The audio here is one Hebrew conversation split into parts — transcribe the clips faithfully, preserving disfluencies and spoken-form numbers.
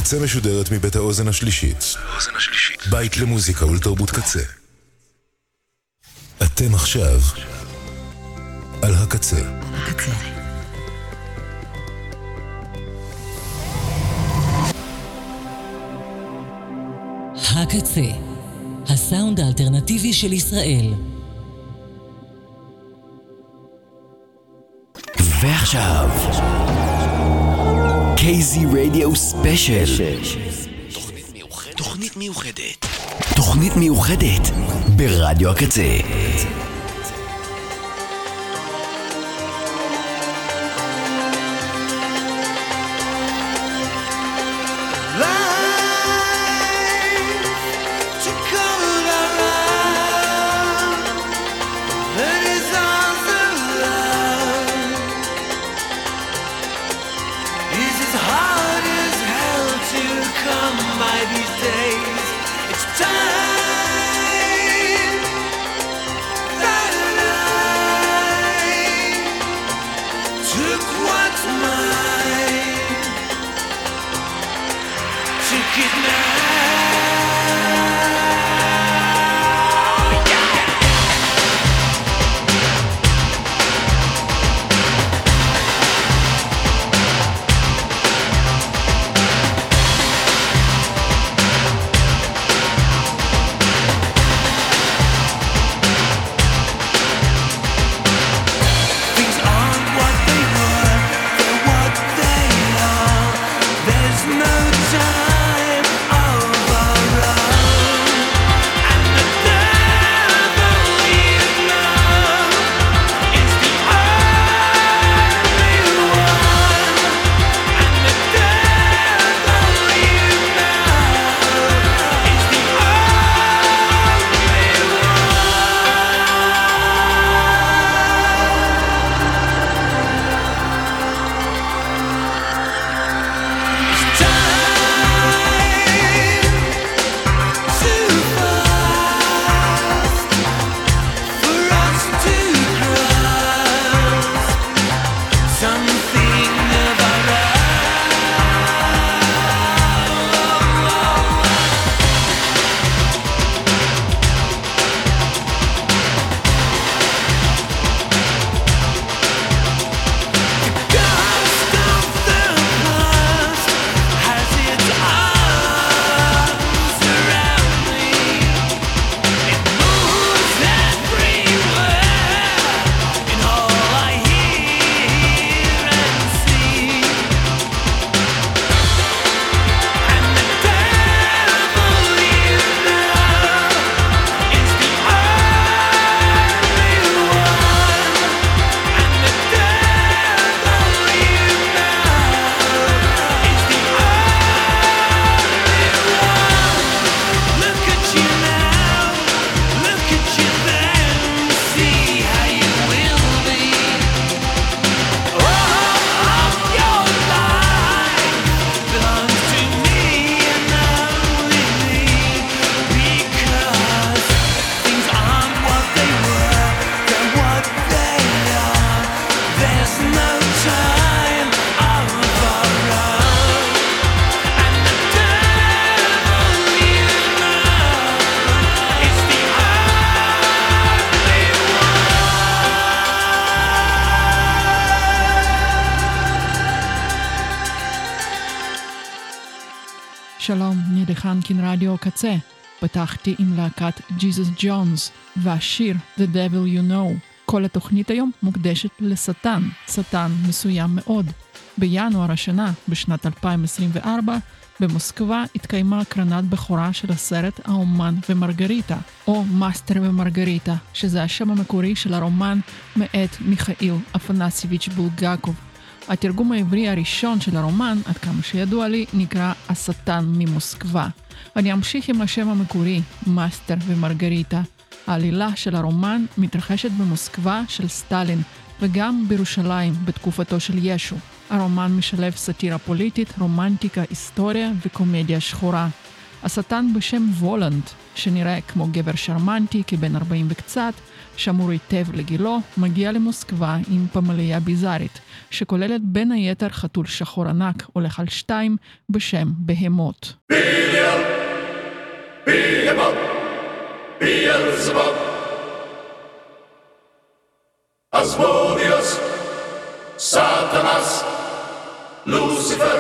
הקצה משודרת מבית האוזן השלישית. בית למוזיקה ולתרבות קצה. אתם עכשיו על הקצה. הקצה. הקצה, הסאונד האלטרנטיבי של ישראל. ועכשיו קייזי רדיו ספיישל, תוכנית מיוחדת תוכנית מיוחדת תוכנית מיוחדת ברדיו הקצה. שלום, נידי חנקין רדיו קצה. פתחתי עם להקת ג'יזוס ג'ונס והשיר The Devil You Know. כל התוכנית היום מוקדשת לשטן, שטן מסוים מאוד. בינואר השנה, בשנת אלפיים עשרים וארבע, במוסקבה התקיימה הקרנת בכורה של הסרט האומן ומרגריטה, או מאסטר ומרגריטה, שזה השם המקורי של הרומן מאת מיכאיל אפנסיביץ' בולגקוב. התרגום העברי הראשון של הרומן, עד כמה שידוע לי, נקרא השטן ממוסקבה. אני אמשיך עם השם המקורי, מאסטר ומרגריטה. העלילה של הרומן מתרחשת במוסקבה של סטלין, וגם בירושלים בתקופתו של ישו. הרומן משלב סאטירה פוליטית, רומנטיקה, היסטוריה וקומדיה שחורה. השטן בשם וולנד, שנראה כמו גבר שרמנטי כבן ארבעים וקצת, שמור היטב לגילו, מגיע למוסקבה עם פמליה ביזארית, שכוללת בין היתר חתול שחור ענק, הולך על שתיים, בשם בהמות. ביאל, בהמות, ביאלזבוב, אסמודיוס, סטנס, לוסיפר.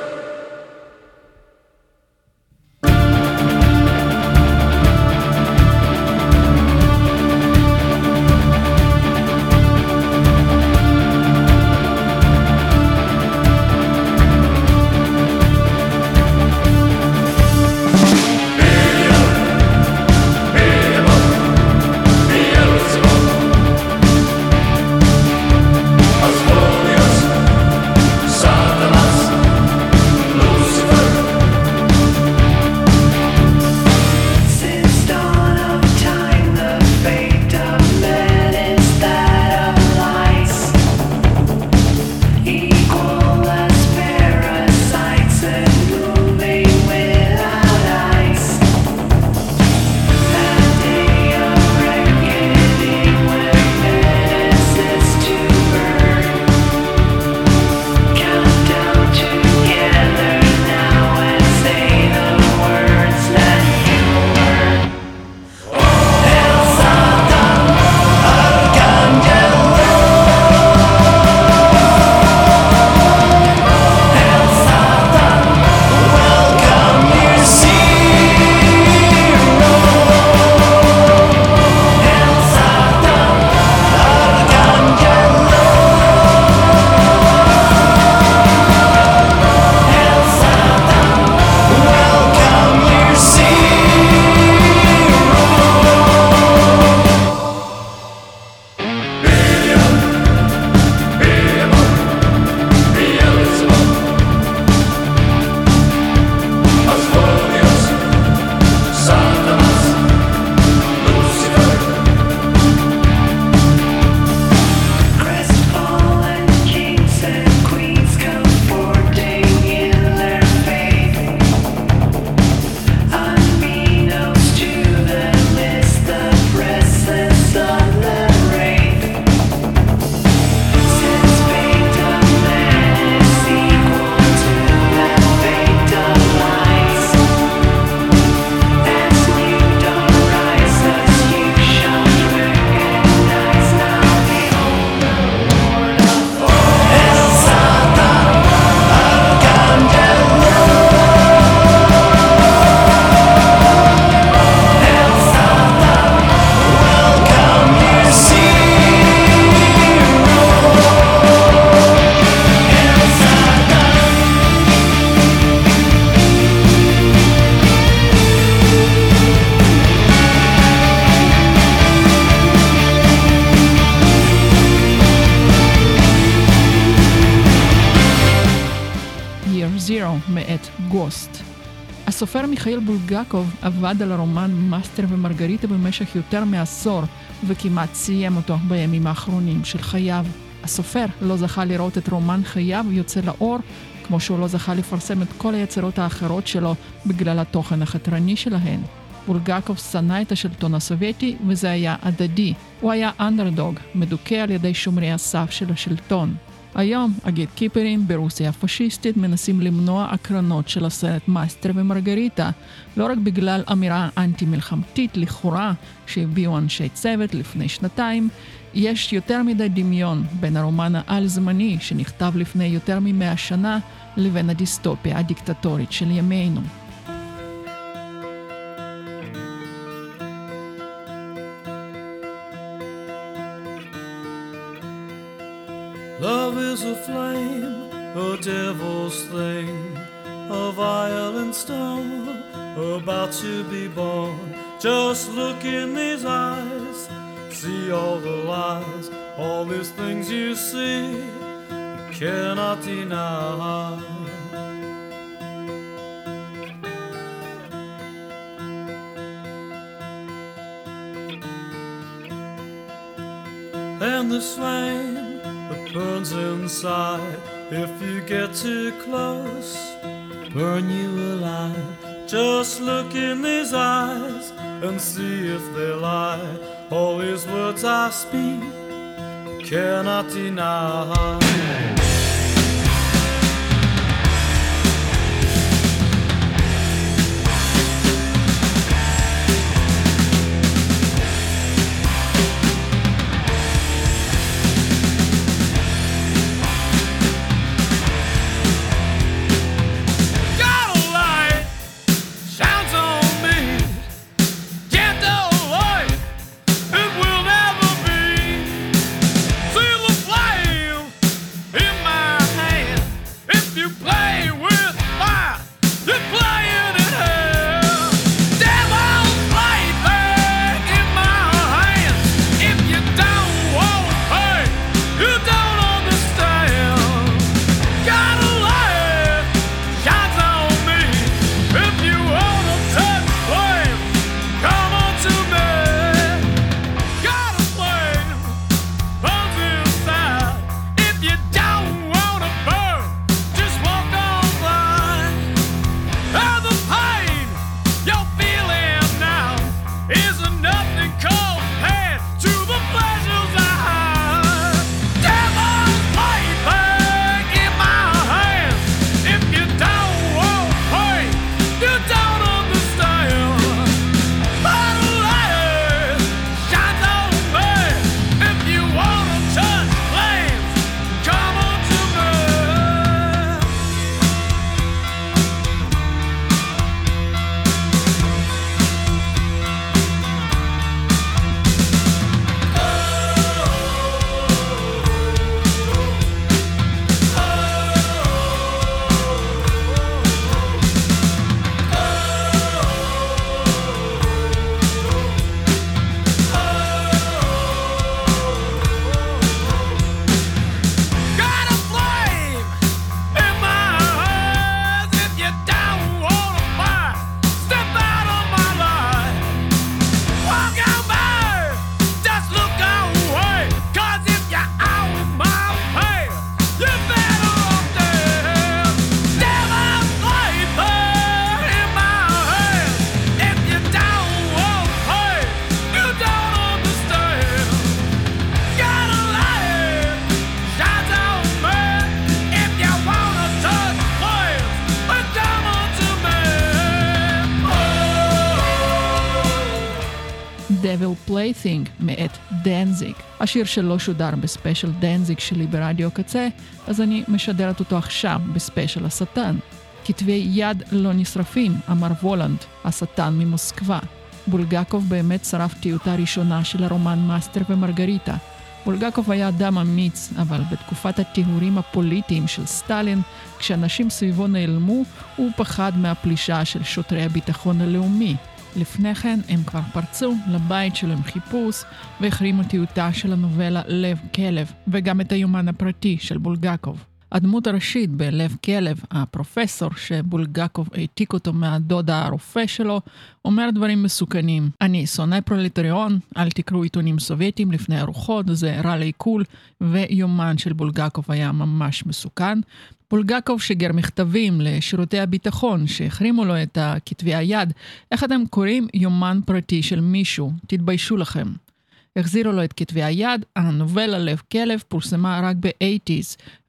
מאת גוסט. הסופר מיכאיל בולגקוב עבד על הרומן מאסטר ומרגריטה במשך יותר מעשור, וכמעט סיים אותו בימים האחרונים של חייו. הסופר לא זכה לראות את רומן חייו יוצא לאור, כמו שהוא לא זכה לפרסם את כל היצירות האחרות שלו בגלל התוכן החתרני שלהן. בולגקוב שנא את השלטון הסובייטי, וזה היה הדדי. הוא היה אנדרדוג, מדוכא על ידי שומרי הסף של השלטון. היום הגייט קיפרים ברוסיה הפשיסטית מנסים למנוע הקרנות של הסרט מאסטר ומרגריטה, לא רק בגלל אמירה אנטי-מלחמתית לכאורה שהביאו אנשי צוות לפני שנתיים, יש יותר מדי דמיון בין הרומן העל-זמני שנכתב לפני יותר ממאה שנה לבין הדיסטופיה הדיקטטורית של ימינו. Love is a flame, a devil's thing, a violent star about to be born. Just look in these eyes, see all the lies, all these things you see, you cannot deny. And this flame that burns inside, if you get too close, burn you alive. Just look in these eyes and see if they lie. All these words I speak cannot deny. Devil Plaything מאת דנזיג. השיר שלא שודר בספיישל דנזיג שלי ברדיו קצה, אז אני משדרת אותו עכשיו בספיישל השטן. כתבי יד לא נשרפים, אמר וולנד, השטן ממוסקבה. בולגקוב באמת שרף טיוטה ראשונה של הרומן מאסטר ומרגריטה. בולגקוב היה אדם אמיץ, אבל בתקופת הטיהורים הפוליטיים של סטלין, כשאנשים סביבו נעלמו, הוא פחד מהפלישה של שוטרי הביטחון הלאומי. לפני כן הם כבר פרצו לבית שלו עם חיפוש והחרימו טיוטה של הנובלה לב כלב וגם את היומן הפרטי של בולגקוב. הדמות הראשית בלב כלב, הפרופסור שבולגקוב העתיק אותו מהדוד הרופא שלו, אומר דברים מסוכנים. אני שונא פרולטריון, אל תקראו עיתונים סובייטיים לפני ארוחות, זה רע לעיכול, ויומן של בולגקוב היה ממש מסוכן. בולגקוב שגר מכתבים לשירותי הביטחון שהחרימו לו את כתבי היד. איך אתם קוראים יומן פרטי של מישהו? תתביישו לכם. החזירו לו את כתבי היד, הנובלה לב כלב פורסמה רק ב-שמונים,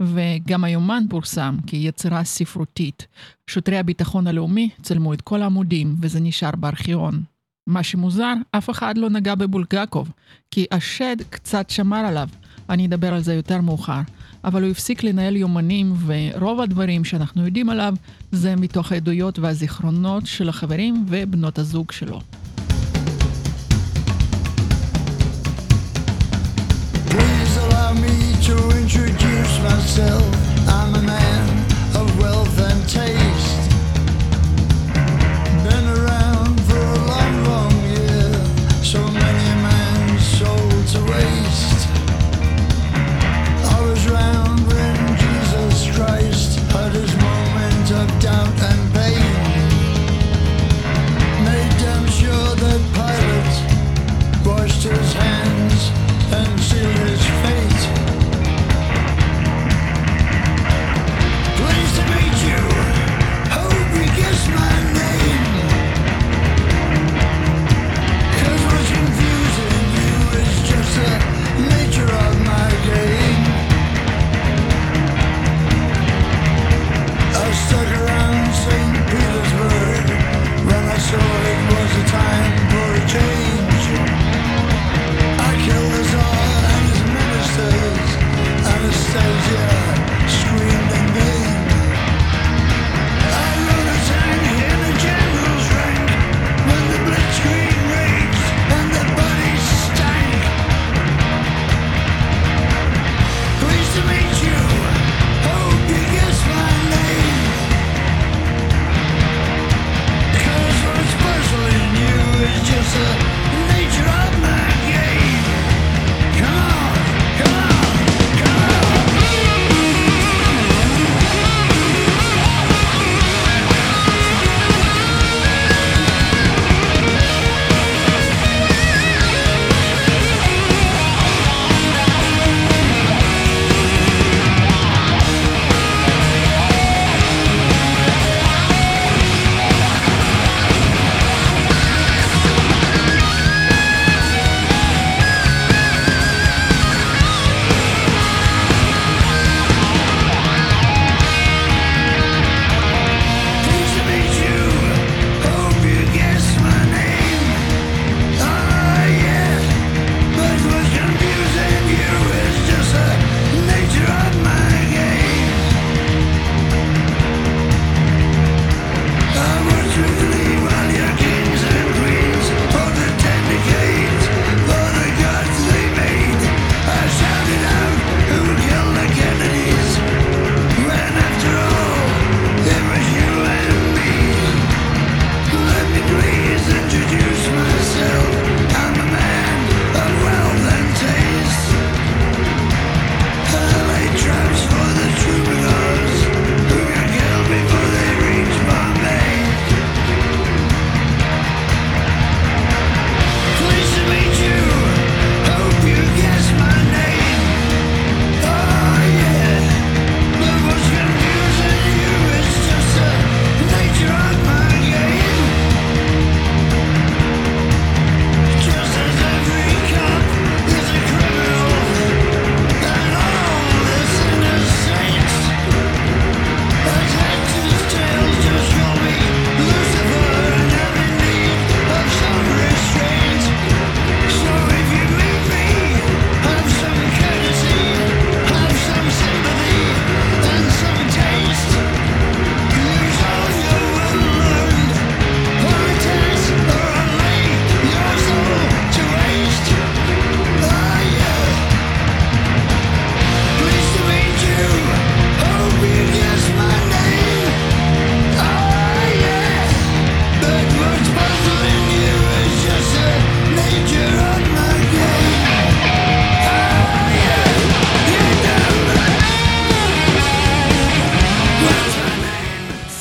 וגם היומן פורסם כיצירה ספרותית. שוטרי הביטחון הלאומי צלמו את כל העמודים, וזה נשאר בארכיון. מה שמוזר, אף אחד לא נגע בבולגקוב, כי השד קצת שמר עליו. אני אדבר על זה יותר מאוחר. אבל הוא הפסיק לנהל יומנים, ורוב הדברים שאנחנו יודעים עליו זה מתוך העדויות והזיכרונות של החברים ובנות הזוג שלו. Please allow me to introduce myself. I'm a man of wealth and taste. Been around for a long, long year. So many a man's soul to waste. I was round when Jesus Christ had his moment of doubt and pain. Made damn sure that Pilate washed his hands and sealed his fate.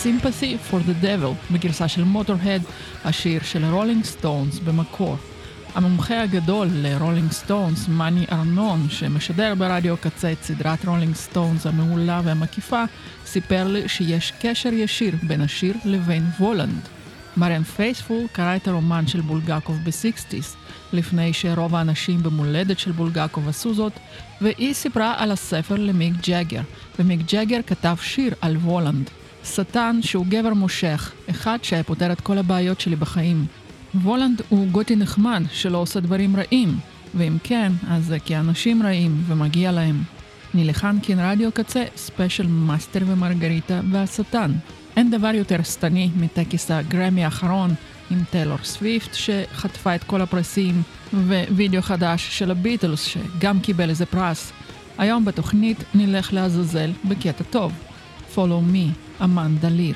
Sympathy for the Devil בגרסה של מוטורהד, השיר של הרולינג סטונס במקור. המומחה הגדול לרולינג סטונס, מני ארנון, שמשדר ברדיו קצה את סדרת רולינג סטונס המעולה והמקיפה, סיפר לי שיש קשר ישיר בין השיר לבין וולנד. מריאן פייספול קרא את הרומן של בולגקוב ב-שישים, לפני שרוב האנשים במולדת של בולגקוב עשו זאת, והיא סיפרה על הספר למיק ג'אגר, ומיק ג'אגר כתב שיר על וולנד. שטן שהוא גבר מושך, אחד שפותר את כל הבעיות שלי בחיים. וולנד הוא גותי נחמד שלא עושה דברים רעים, ואם כן, אז זה כי אנשים רעים ומגיע להם. נלחן כאן רדיו קצה, ספיישל מאסטר ומרגריטה והשטן. אין דבר יותר סתני מטקס הגרמי האחרון עם טיילור סוויפט שחטפה את כל הפרסים, ווידאו חדש של הביטלס שגם קיבל איזה פרס. היום בתוכנית נלך לעזאזל בקטע טוב. Follow me, אמנדה ליר.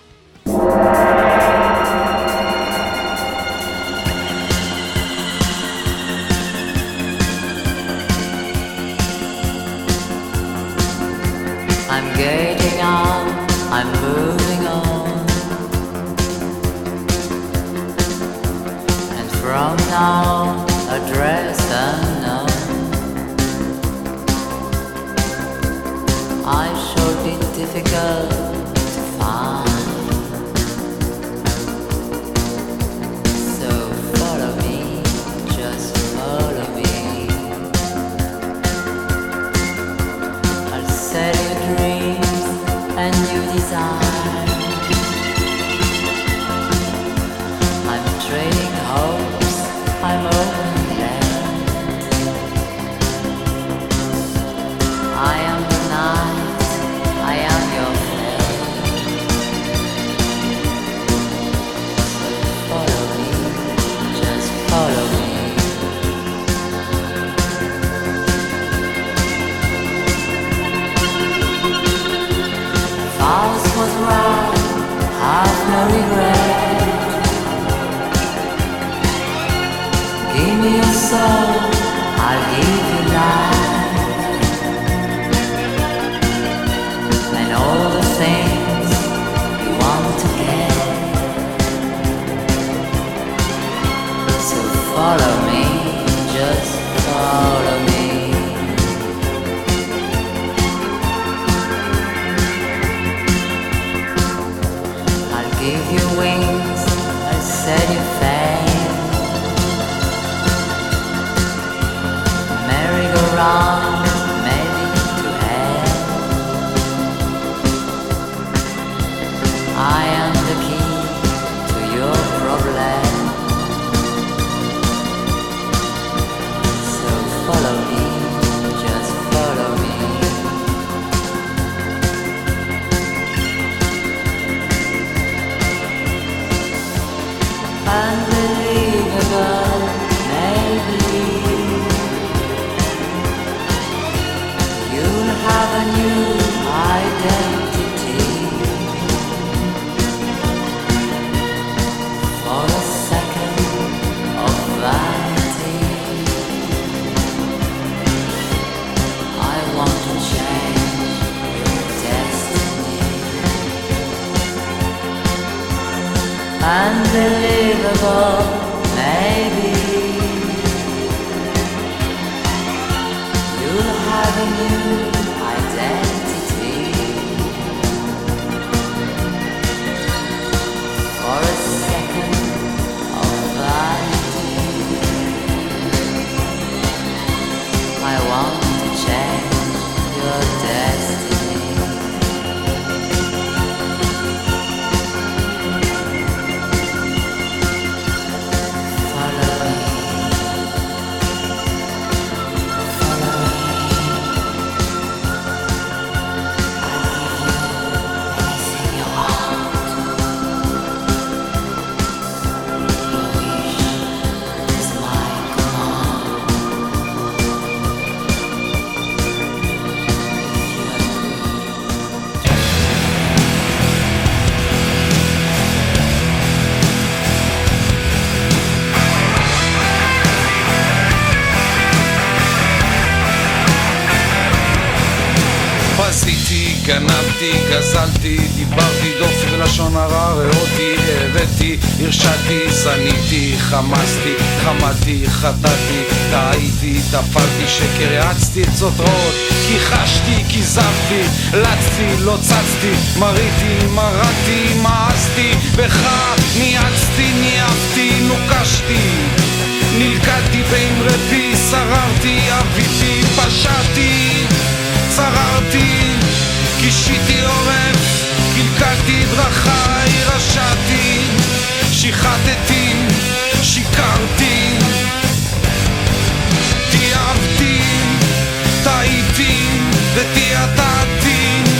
I'm getting on, I'm moving on, and from now address unknown, I shall be difficult to find, so follow me, just follow me. I'll set your dreams and new desire. I'm trading hopes, I'm open there. I am the night, I am your flame. So follow me, just follow me. False was right, have no regret. Give me your soul, I'll give you life, and all the things you want to get. So follow me, just follow me. Give you wings, I'll set you fame. Merry-go-round, maybe to hell. I am the key to your problem. So follow me, just follow me. Unbelievable, maybe you'll have a new identity. For a second of vanity, I want to change your destiny. Unbelievable, maybe you'll have a new identity. For a second of vanity, I want to change your destiny. גנבתי, גזלתי, דיברתי דופי לשון הרע, ראותי, הבאתי, הרשעתי, שניתי, חמסתי, חמתי, חטאתי, טעיתי, טפלתי, שקר, יעצתי עצות רעות, כיחשתי, כיזבתי, לצתי, לא צצתי, מריתי, מרדתי, מאסתי, בך ניאצתי, ניאבתי, נוקשתי, נלקדתי באמרי פי, שררתי, אביתי, פשעתי, צררתי, קישיתי עורף, קלקלתי דרכי, רשעתי, שיחדתי, שיקרתי, תיאבתי, טעיתי ותיאטעתי.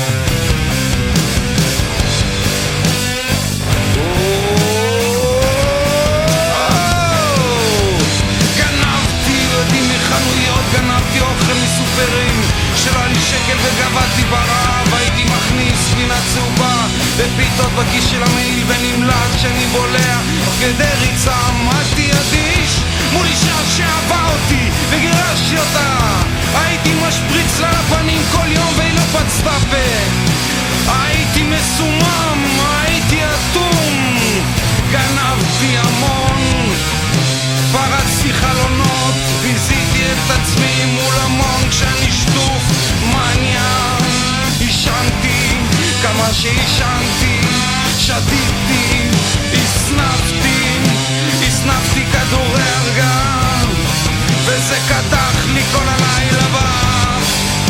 גנבתי יודעים מחנויות, גנבתי אוכל מסופרים, שלא לי שקל וגבדתי ברעב, הייתי מכניס פינה צהובה ופיתות בכיס של המעיל ונמלט שאני בולע כדי ריצה. עמדתי אדיש מול אישה שאהבה אותי וגירשתי אותה, הייתי משפריץ לה לפנים כל יום והיא לא פצתה פה, הייתי מסומם, הייתי אטום, גנבתי המון, פרצתי חלונות, ביזיתי את עצמי מול המון כשאני שטוף מניה, ישנתי כמה שישנתי, שתיתי, הסנפתי, הסנפתי כדורי הרגעה, וזה קדח לי כל הלילה באף.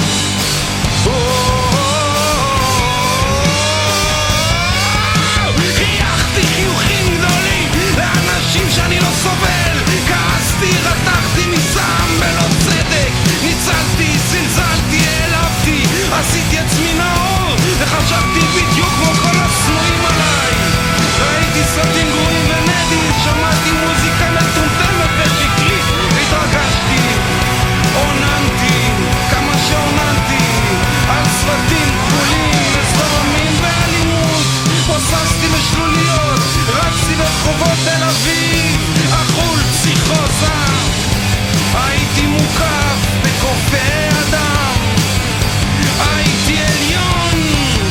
חייכתי חיוכים גדולים לאנשים שאני לא סובל, כעסתי, רתחתי מסם בלא צדק, ניצלתי, זלזלתי, העלבתי, עשיתי עצמי נאור וחשבתי בדיוק כמו כל השנואים עליי, ראיתי סרטים גרועים ונדים, שמעתי מוזיקה מטומטמת ושקרית, התרגשתי, עוננתי כמה שעוננתי על סרטים כחולים וסדרמים ואלימות, פוססתי בשלוליות, רצתי ברחובות תל אביב, החול פסיכוזה, הייתי מוקף בקופי אדם, הייתי עליון,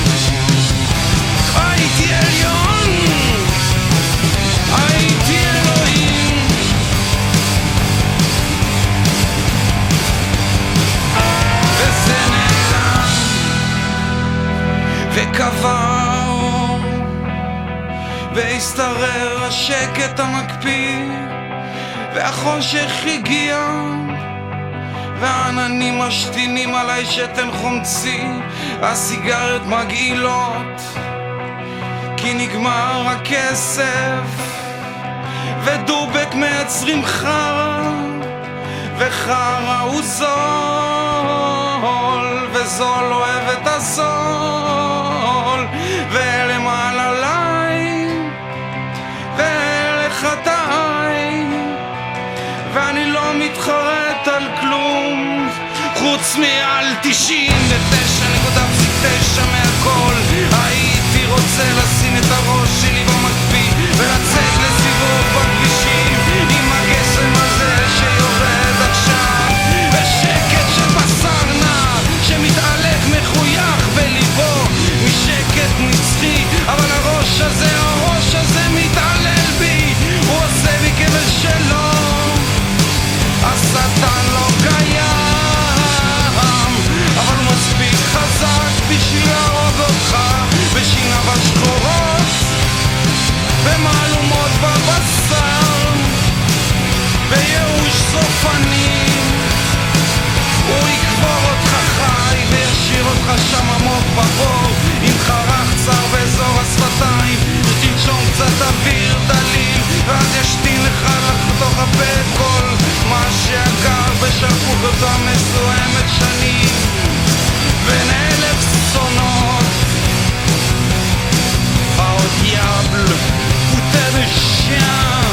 הייתי עליון, הייתי אלוהים, וזה נעלם וקבע אור, והסתרר השקט המקפיא, והחושך הגיע, והעננים משתינים עליי שתן חומצי, הסיגריות מגעילות, כי נגמר הכסף, ודובק מייצרים חרא, וחרא הוא זול, וזול אוהב את הזול, ולמעלה עליי, ולחטאי, ואני לא מתחרט על כלום חוץ מעל תשעים ותשע נקודה תשע מהכל. הייתי רוצה לשים את הראש שלי במקפיא ולצאת לסיבוב בכבישים עם הגשם הזה שיורד עכשיו, ושקט של בשר נע שמתהלך מחוייך בליבו, משקט נצחי, אבל הראש הזה, הראש הזה מתעלל בי, הוא עושה בי כבל שלו, השטן לא קיים, אבל הוא מספיק חזק בשביל להרוג אותך בשיניו השחורות, במהלומות בבשר, בייאוש סופני, הוא יקבור אותך חי וישאיר אותך שם עמוק בבור, עם חרך צר באזור השפתיים, שתנשום קצת אוויר דליל, ואז ישתין לך לתוך הפה את כל מה שיקר בשלפוחותו מסוימת שנים, בין אלף סונות, au diable, putain de chien.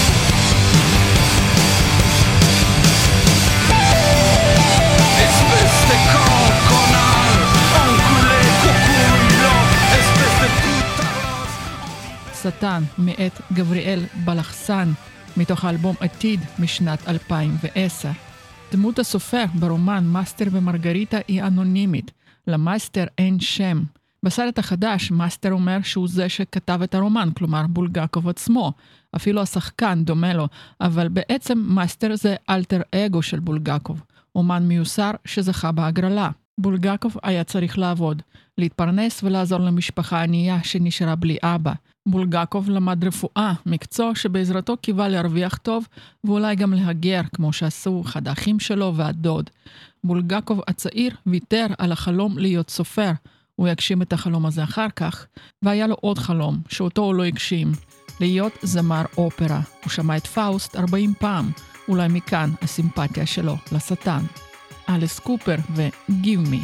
Espèce de con, connard, enculé, coucouillon, espèce de putain. שטן מאת גבריאל בלחסן, מתוך האלבום עתיד משנת אלפיים ועשר. דמות הסופר ברומן מאסטר ומרגריטה היא אנונימית, למאסטר אין שם, בסרט החדש, מאסטר אומר שהוא זה שכתב את הרומן, כלומר בולגקוב עצמו. אפילו השחקן דומה לו, אבל בעצם מאסטר זה אלטר אגו של בולגקוב, אומן מיוסר שזכה בהגרלה. בולגקוב היה צריך לעבוד, להתפרנס ולעזור למשפחה ענייה שנשארה בלי אבא. בולגקוב למד רפואה, מקצוע שבעזרתו קיווה להרוויח טוב, ואולי גם להגר, כמו שעשו אחד האחים שלו והדוד. בולגקוב הצעיר ויתר על החלום להיות סופר. הוא יגשים את החלום הזה אחר כך, והיה לו עוד חלום, שאותו הוא לא הגשים, להיות זמר אופרה. הוא שמע את פאוסט ארבעים פעם, אולי מכאן הסימפתיה שלו לשטן. אליס קופר ו-Give Me.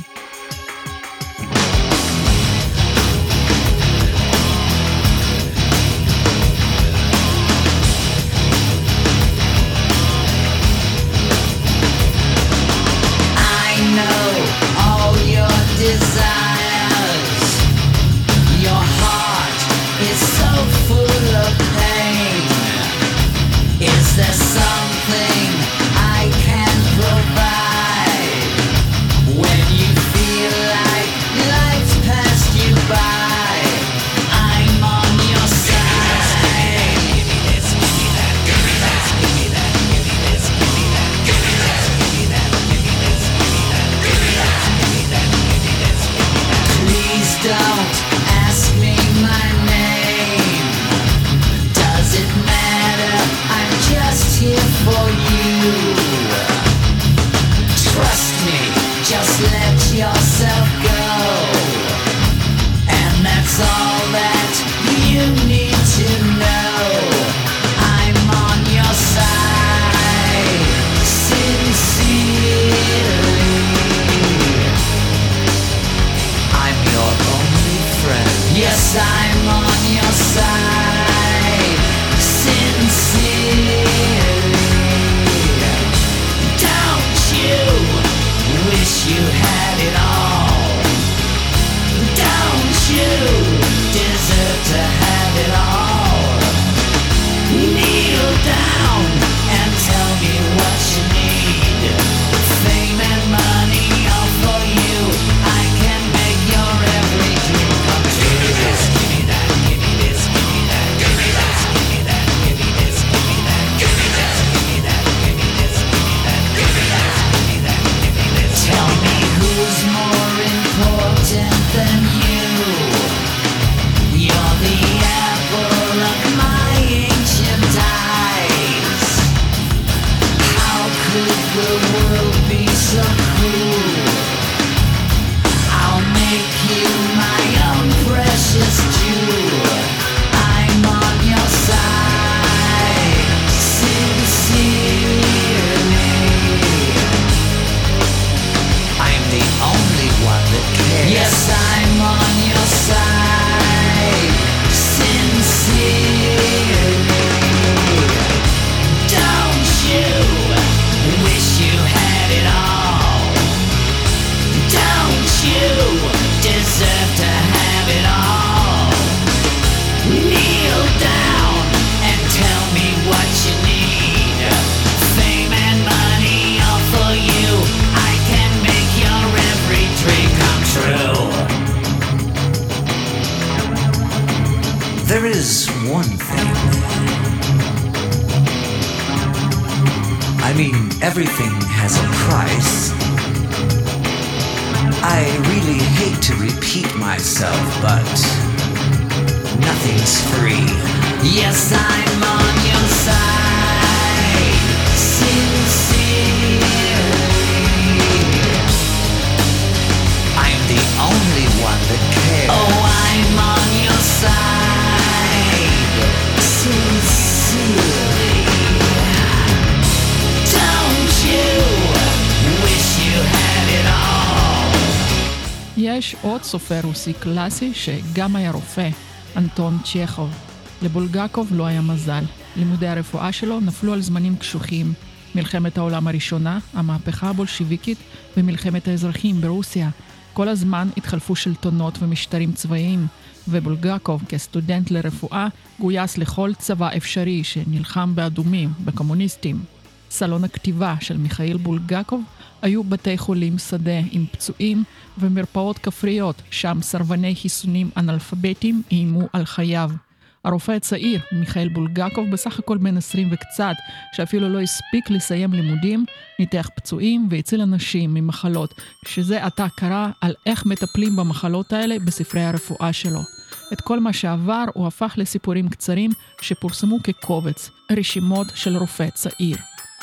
Desires, your heart is so full of pain. Is there something I can provide when you feel like life's passed you by? I'm on your side. Give me this, give me that, give me that, give me that, give me this, give me that, give me that, give me that, give me this, give me that, give me that, give me that. Please don't ask me my name. Does it matter? I'm just here for you. Trust me, just let yourself go. And that's all that you need to know. I'm on your side, sincerely. Yes, I'm on your side, sincerely. Don't you wish you had it all? Don't you deserve to have it all? Kneel down and tell me what you need. Fame and money all for you. I can make your every dream come true. Than you, you're the apple of my ancient eyes. How could the world be so cruel? I'll make you my own precious jewel. I'm on your side, sincerely. I'm the only one that cares. Yes, I'm on your side, sincerely. Don't you wish you had it all? Don't you deserve to have it all? Kneel down and tell me what you need. Fame and money all for you. I can make your every dream come true. There is one thing. I mean, everything has a price. I really hate to repeat myself, but nothing's free. Yes, I'm on your side, sincerely. I'm the only one that cares. Oh, I'm on your side, sincerely. Don't you wish you had it all? יש עוד סופר רוסי קלאסי שגם היה רופא, אנטון צ'כוב. לבולגקוב לא היה מזל. לימודי הרפואה שלו נפלו על זמנים קשוחים. מלחמת העולם הראשונה, המהפכה הבולשיביקית ומלחמת האזרחים ברוסיה. כל הזמן התחלפו שלטונות ומשטרים צבאיים, ובולגקוב כסטודנט לרפואה גויס לכל צבא אפשרי שנלחם באדומים, בקומוניסטים. סלון הכתיבה של מיכאיל בולגקוב היו בתי חולים שדה עם פצועים ומרפאות כפריות, שם סרבני חיסונים אנאלפביתים איימו על חייו. הרופא הצעיר, מיכאיל בולגקוב, בסך הכל בן עשרים וקצת, שאפילו לא הספיק לסיים לימודים, ניתח פצועים והציל אנשים ממחלות, שזה עתה קרא על איך מטפלים במחלות האלה בספרי הרפואה שלו. את כל מה שעבר הוא הפך לסיפורים קצרים שפורסמו כקובץ, רשימות של רופא צעיר.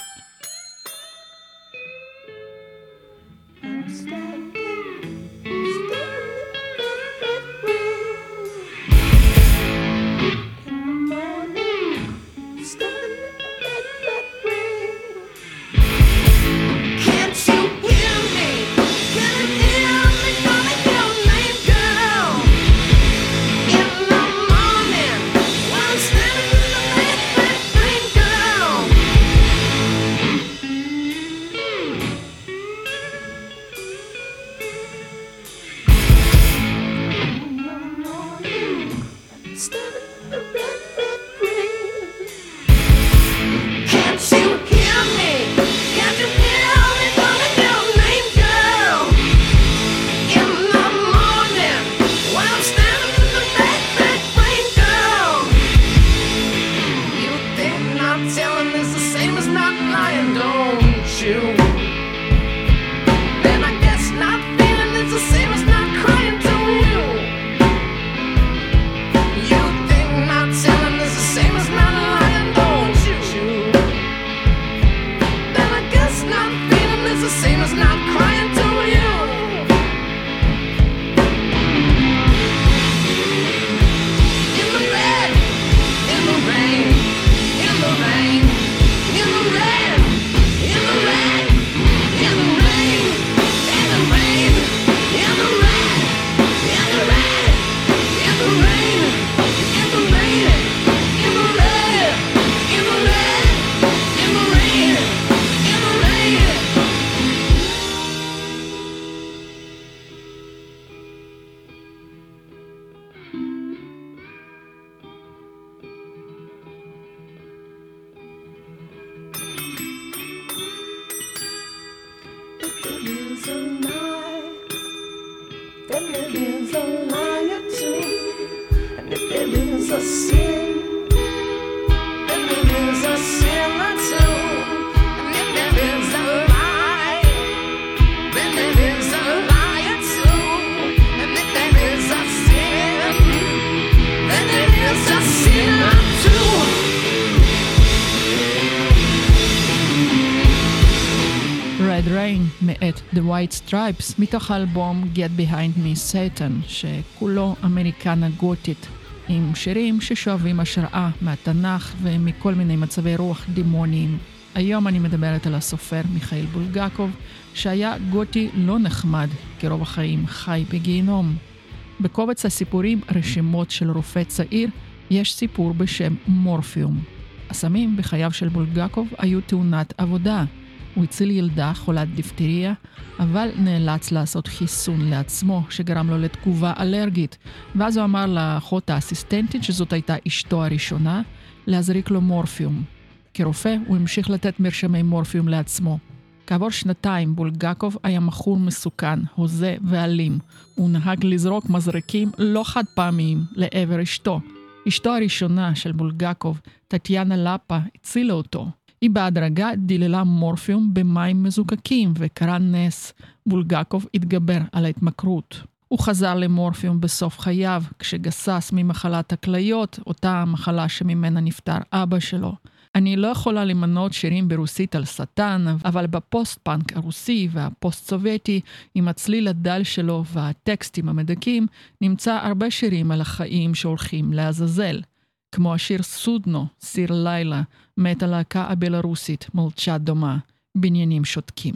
מאת The White Stripes, מתוך האלבום Get Behind Me Satan, שכולו אמריקנה גותית, עם שירים ששואבים השראה מהתנ"ך ומכל מיני מצבי רוח דימוניים. היום אני מדברת על הסופר מיכאיל בולגקוב, שהיה גותי לא נחמד, כרוב החיים חי בגיהנום. בקובץ הסיפורים רשימות של רופא צעיר, יש סיפור בשם מורפיום. הסמים בחייו של בולגקוב היו תאונת עבודה. הוא הציל ילדה חולת דיפתריה, אבל נאלץ לעשות חיסון לעצמו, שגרם לו לתגובה אלרגית. ואז הוא אמר לאחות האסיסטנטית, שזאת הייתה אשתו הראשונה, להזריק לו מורפיום. כרופא הוא המשיך לתת מרשמי מורפיום לעצמו. כעבור שנתיים בולגקוב היה מכור מסוכן, הוזה ואלים. הוא נהג לזרוק מזרקים לא חד פעמיים לעבר אשתו. אשתו הראשונה של בולגקוב, טטיאנה לפה, הצילה אותו. היא בהדרגה דיללה מורפיום במים מזוקקים, וקרה נס. בולגקוב התגבר על ההתמכרות. הוא חזר למורפיום בסוף חייו, כשגסס ממחלת הכליות, אותה מחלה שממנה נפטר אבא שלו. אני לא יכולה למנות שירים ברוסית על שטן, אבל בפוסט-פאנק הרוסי והפוסט-סובייטי, עם הצליל הדל שלו והטקסטים המדקים, נמצא הרבה שירים על החיים שהולכים לעזאזל. כמו השיר סודנו, סיר לילה, מאת הלהקה הבלרוסית, מולצ'ה דומה, בניינים שותקים.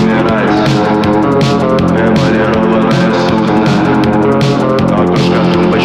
Скажем,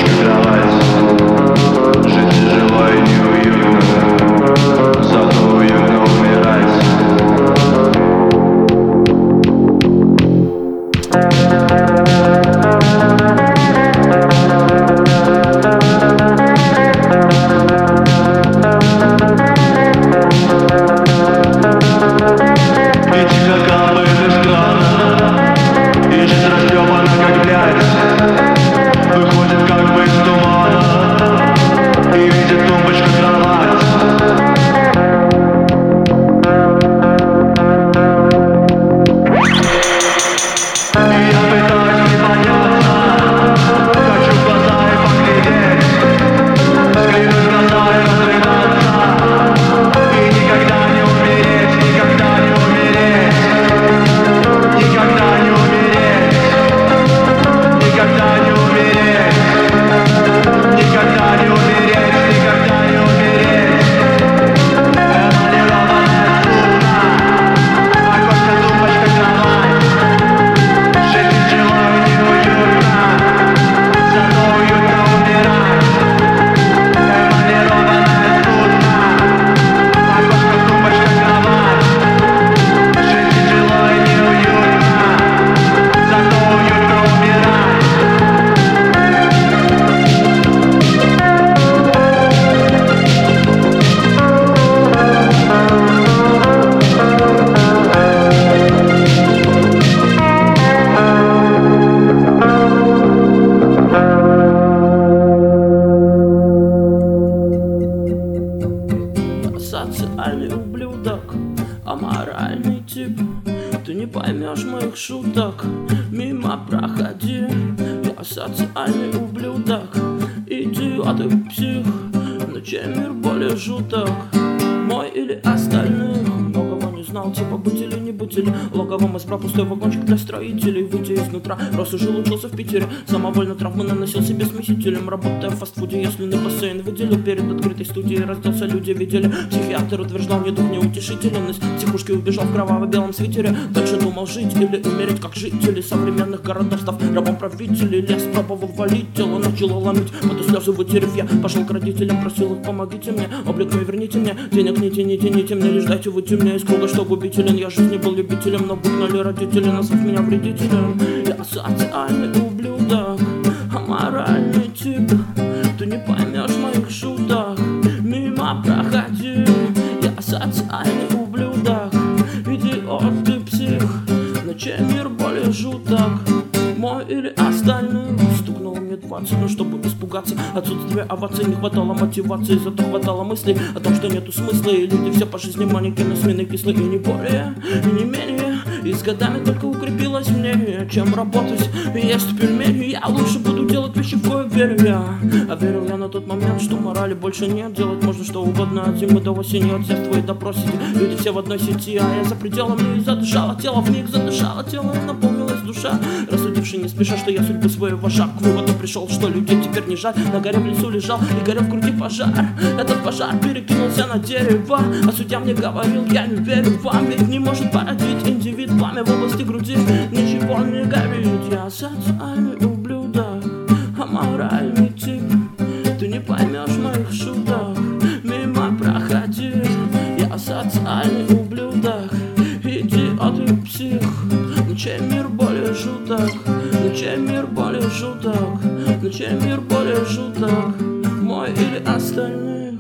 поймешь моих шуток. Мимо проходи, я социальный ублюдок. Идиот и псих, но чей мир более жуток? Мой или остальных? Многого не знал, типа быть или не быть, или логовом избрал пустой вагончик для строителей. Выйдя изнутра, раз уже учился в Питере, самовольно травмы наносил себе смесителем. Работая в фастфуде, если на бассейн выделил перед открытой студией, разделся, люди видели. Психиатр утверждал, мне дух неутешителен. Из психушки убежал в кроваво-белом свитере. Дальше думал жить или умереть, как жители современных городов, став рабом правителей. Лес пробовал валить, тело начало ломить, потом слезы вытерев, я пошел к родителям, просил их, помогите мне, облик мой верните мне, денег не тяните, не темне, лишь дайте выйти мне из круга, что губителен. Я жизни был любителем, но бугнули родители, назвав меня вредителем. Я социальный ублюдок, аморальный тип, ты не поймешь моих шуток. Мимо проходи, я социальный ублюдок, идиот ты псих, но чей мир более жуток? Мой или остальных? Стукнуло мне двадцать, но чтобы испугаться отсутствия оваций, не хватало мотивации, зато хватало мыслей о том, что нету смысла. И люди все по жизни манекены, смены кислые, и не более, и не менее. И с годами только укрепилось мнение, чем работать и есть пельмени. Я лучше буду делать вещи, в кое верю я. А верил я на тот момент, что морали больше нет. Делать можно что угодно от зимы до осени, от сеств и до просити. Люди все в одной сети, а я за пределом и задышала тело, в них задышало тело, и наполнилась душа. Рассудивший не спеша, что я судьбу своего шаг к выводу пришел, что людей теперь не жаль. На горе в лесу лежал и горел в груди пожар. Этот пожар перекинулся на дерево, а судья мне говорил, я не верю вам, ведь не может породить индивид пламя в области груди. Ничего не горит, я социальный ублюдок, аморальный тип, ты не поймешь моих шуток. Мимо проходи, я социальный ублюдок, идиот и псих, но чей мир более жуток? Но чей мир более жуток? Но чей мир более жуток? Мой или остальных?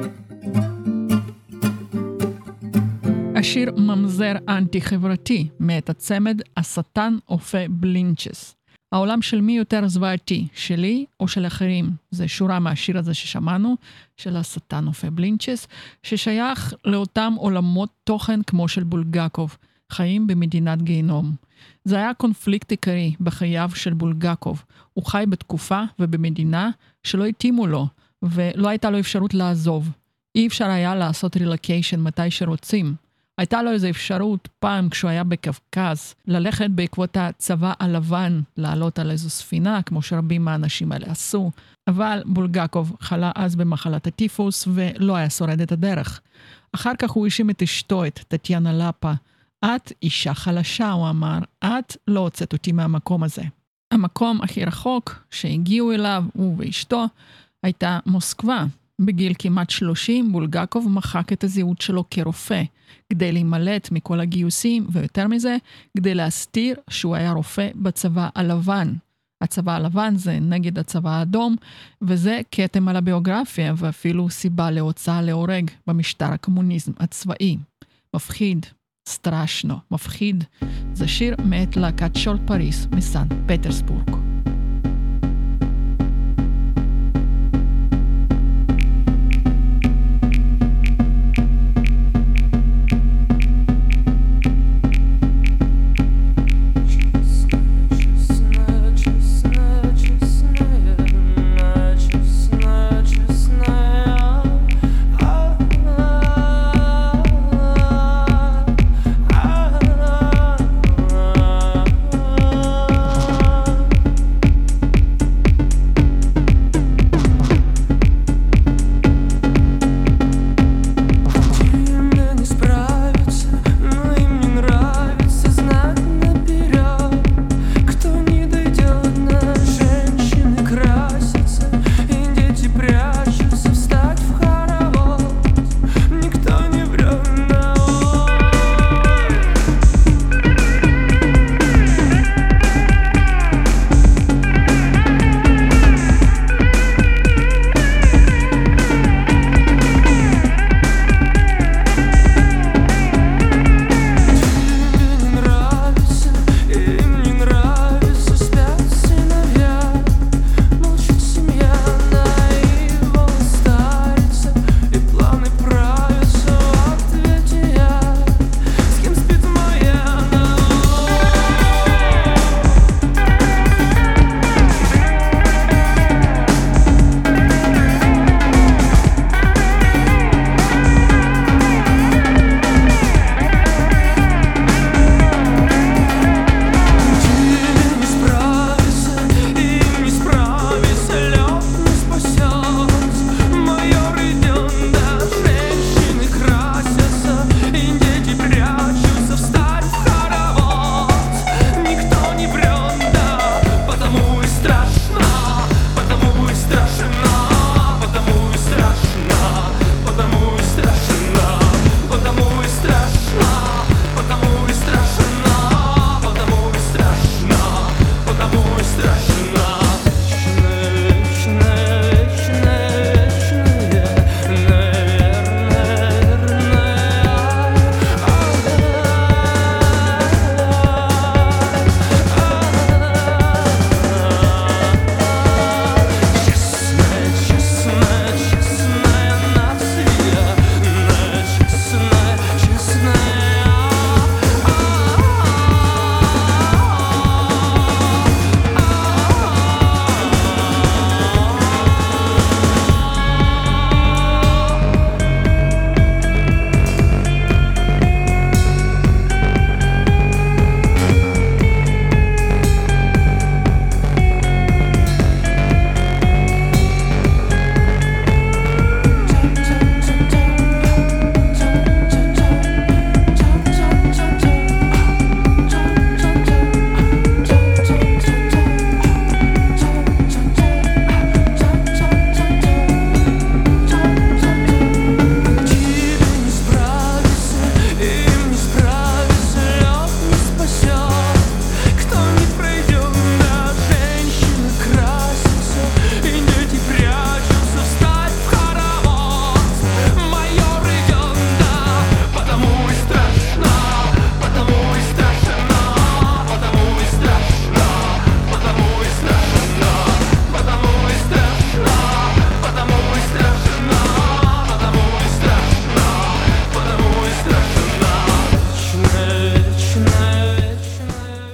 השיר ממזר אנטי-חברתי מאת הצמד השטן אופה בלינצ'ס. העולם של מי יותר זוועתי, שלי או של אחרים? זה שורה מהשיר הזה ששמענו, של השטן אופה בלינצ'ס, ששייך לאותם עולמות תוכן כמו של בולגקוב, חיים במדינת גיהנום. זה היה קונפליקט עיקרי בחייו של בולגקוב. הוא חי בתקופה ובמדינה שלא התאימו לו, ולא הייתה לו אפשרות לעזוב. אי אפשר היה לעשות רילוקיישן מתי שרוצים. הייתה לו איזו אפשרות פעם כשהוא היה בקווקז, ללכת בעקבות הצבא הלבן, לעלות על איזו ספינה, כמו שרבים מהאנשים האלה עשו. אבל בולגקוב חלה אז במחלת הטיפוס ולא היה שורד את הדרך. אחר כך הוא האשים את אשתו, את טטיאנה לפה. את אישה חלשה, הוא אמר, את לא הוצאת אותי מהמקום הזה. המקום הכי רחוק שהגיעו אליו, הוא ואשתו, הייתה מוסקבה. בגיל כמעט שלושים, בולגקוב מחק את הזהות שלו כרופא, כדי להימלט מכל הגיוסים, ויותר מזה, כדי להסתיר שהוא היה רופא בצבא הלבן. הצבא הלבן זה נגד הצבא האדום, וזה כתם על הביוגרפיה, ואפילו סיבה להוצאה להורג במשטר הקומוניזם הצבאי. מפחיד, סטרשנו, מפחיד. זה שיר מאת להקת שול פריס מסן פטרסבורג.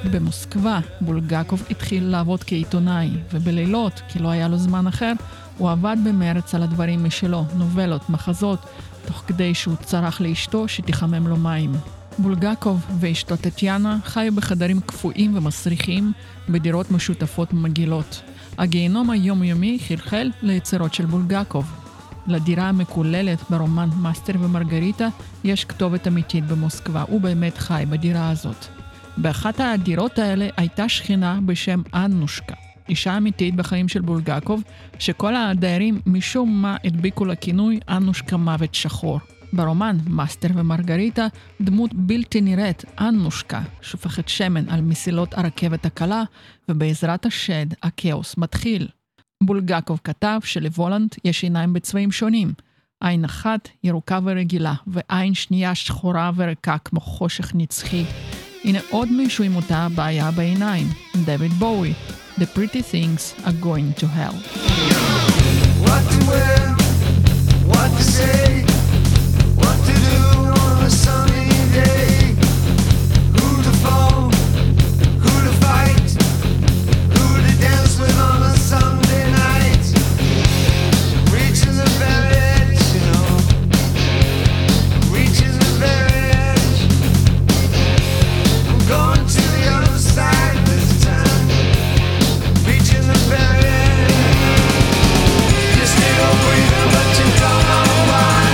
במוסקבה בולגקוב התחיל לעבוד כעיתונאי, ובלילות, כי לא היה לו זמן אחר, הוא עבד במרץ על הדברים משלו, נובלות, מחזות, תוך כדי שהוא צרח לאשתו שתחמם לו מים. בולגקוב ואשתו טטיאנה חיו בחדרים קפואים ומסריחים בדירות משותפות מגעילות. הגיהנום היומיומי חלחל ליצירות של בולגקוב. לדירה המקוללת ברומן מאסטר ומרגריטה יש כתובת אמיתית במוסקבה, הוא באמת חי בדירה הזאת. באחת הדירות האלה הייתה שכינה בשם אנושקה, אישה אמיתית בחיים של בולגקוב, שכל הדיירים משום מה הדביקו לכינוי אנושקה מוות שחור. ברומן מאסטר ומרגריטה דמות בלתי נראית, אנושקה, שופכת שמן על מסילות הרכבת הקלה, ובעזרת השד הכאוס מתחיל. בולגקוב כתב שלוולנד יש עיניים בצבעים שונים. עין אחת ירוקה ורגילה, ועין שנייה שחורה וריקה כמו חושך נצחי. הנה עוד מישהו עם אותה בעיה בעיניים, דויד בואי. The pretty things are going to hell. What to wear, what to say, what to do on a sunny day. Who to fall, who to fight, who to dance with on a Sunday night. Reaching the very edge, you know. Reaching the very edge. I'm going to the other side this time. Reaching the very edge. You stay away, but you don't know why.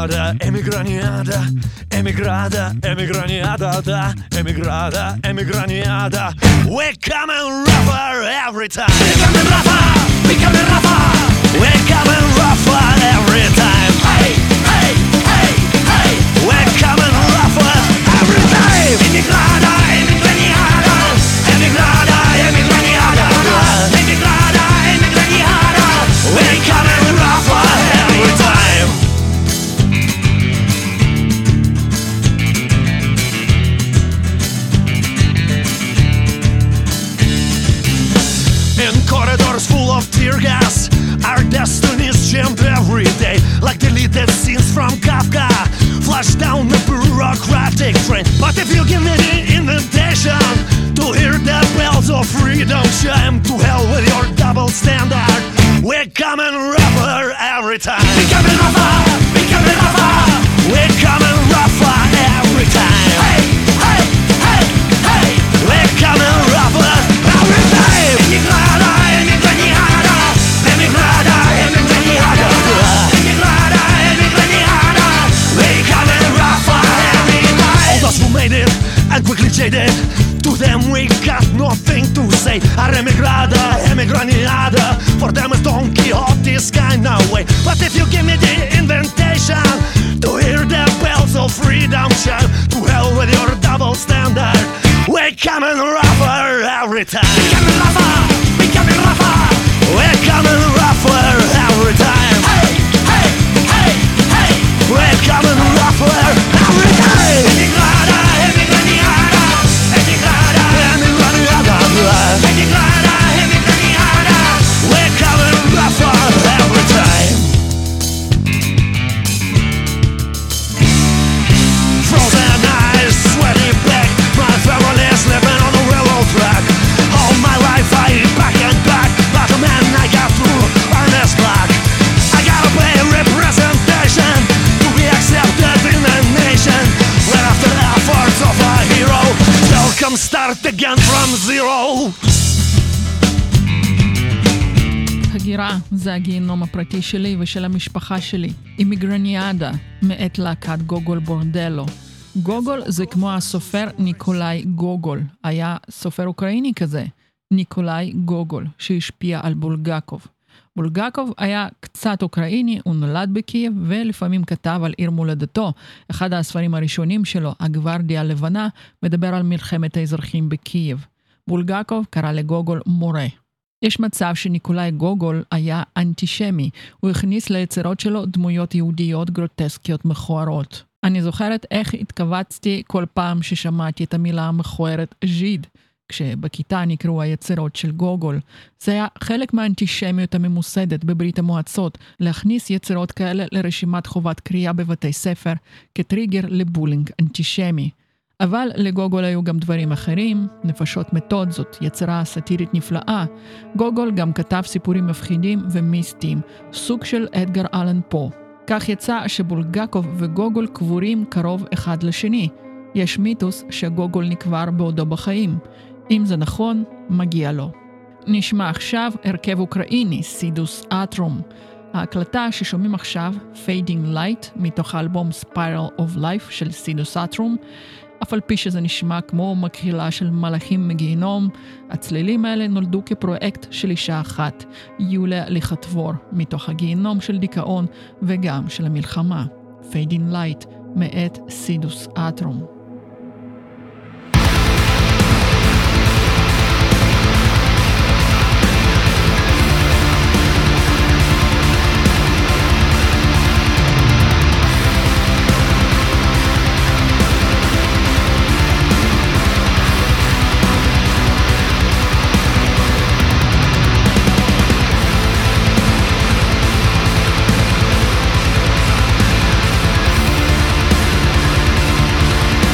emigrada, emigraniada, emigrada, emigraniada, da, emigrada, emigraniada. We're coming rougher every time. We're coming rougher, we're coming rougher. We're coming rougher every time. Hey, hey, hey, hey. We're coming rougher every time. Emigrada, emigraniada, emigrada, emigraniada, emigrada, emigraniada. We're coming rougher every time. In corridors full of tear gas, our destinies jammed every day, like deleted scenes from Kafka, flashed down the bureaucratic train. But if you give me the invitation to hear the bells of freedom chime, to hell with your double standard. We're coming rougher every time. We're coming rougher, we're coming rougher. We're coming rougher every time. Hey, hey, hey, hey. We're coming rougher every time. Emigrada, emigraniada, emigrada, emigraniada, emigrada, emigraniada. We're coming rougher every time. All those who made it and quickly jaded, to them we got nothing to say. Our emigrada, emigraniada, for them it's Don Quixote's kind of way. But if you give me the invitation to hear the bells of freedom chime, to hell with your double standard. We're coming rougher every time. We're coming rougher, we're coming rougher. We're coming rougher every time. Hey, hey, hey, hey. We're coming rougher every time. Emigrada, emigraniada, emigrada, emigraniada, emigrada, emigraniada. We're coming rougher every time. Frozen eyes, sweaty back, my family's living on the railroad track. All my life I eat back and back, but the man I got through earn his black. I gotta pay representation to be accepted in the nation. When after the efforts of a hero, they'll come start again from zero. הגירה זה הגיהנום הפרטי שלי ושל המשפחה שלי. אימיגרניאדה, מאת להקת גוגול בורדלו. גוגול זה כמו הסופר ניקולאי גוגול. היה סופר אוקראיני כזה, ניקולאי גוגול, שהשפיע על בולגקוב. בולגקוב היה קצת אוקראיני, הוא נולד בקייב ולפעמים כתב על עיר מולדתו. אחד הספרים הראשונים שלו, הגוורדיה הלבנה, מדבר על מלחמת האזרחים בקייב. בולגקוב קרא לגוגול מורה. יש מצב שניקולאי גוגול היה אנטישמי. הוא הכניס ליצירות שלו דמויות יהודיות גרוטסקיות מכוערות. אני זוכרת איך התכווצתי כל פעם ששמעתי את המילה המכוערת ז'יד, כשבכיתה נקראו היצירות של גוגול. זה היה חלק מהאנטישמיות הממוסדת בברית המועצות, להכניס יצירות כאלה לרשימת חובת קריאה בבתי ספר, כטריגר לבולינג אנטישמי. אבל לגוגול היו גם דברים אחרים. נפשות מתות זאת יצירה סאטירית נפלאה. גוגול גם כתב סיפורים מפחידים ומיסטיים, סוג של אדגר אלן פה. כך יצא שבולגקוב וגוגול קבורים קרוב אחד לשני. יש מיתוס שגוגול נקבר בעודו בחיים. אם זה נכון, מגיע לו. נשמע עכשיו הרכב אוקראיני, סידוס אטרום. ההקלטה ששומעים עכשיו, Fading Light, מתוך האלבום Spiral of Life של סידוס אטרום, אף על פי שזה נשמע כמו מקהלה של מלאכים מגיהנום, הצלילים האלה נולדו כפרויקט של אישה אחת, יוליה ליכטבור, מתוך הגיהנום של דיכאון וגם של המלחמה. Fading Light, מאת סידוס אטרום. We'll be right back.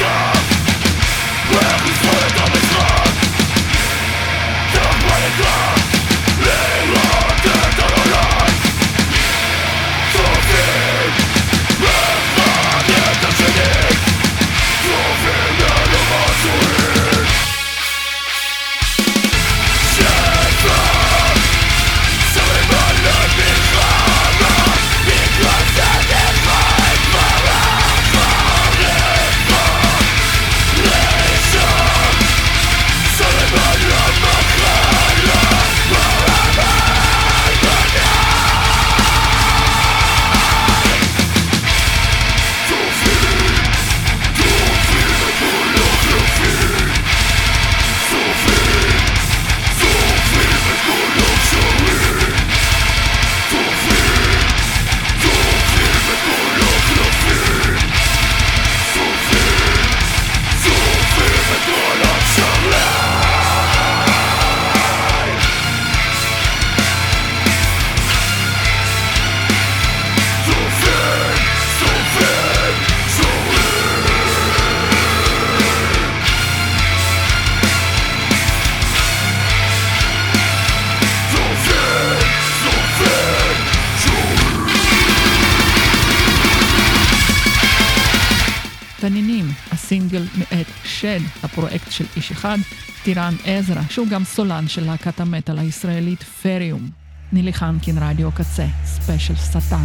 תנינים, הסינגל מאת שד, הפרויקט של איש אחד, טירן עזרא, שהוא גם סולן של להקת המטל הישראלית פריום. נילי חנקין, רדיו קצה, ספיישל שטן.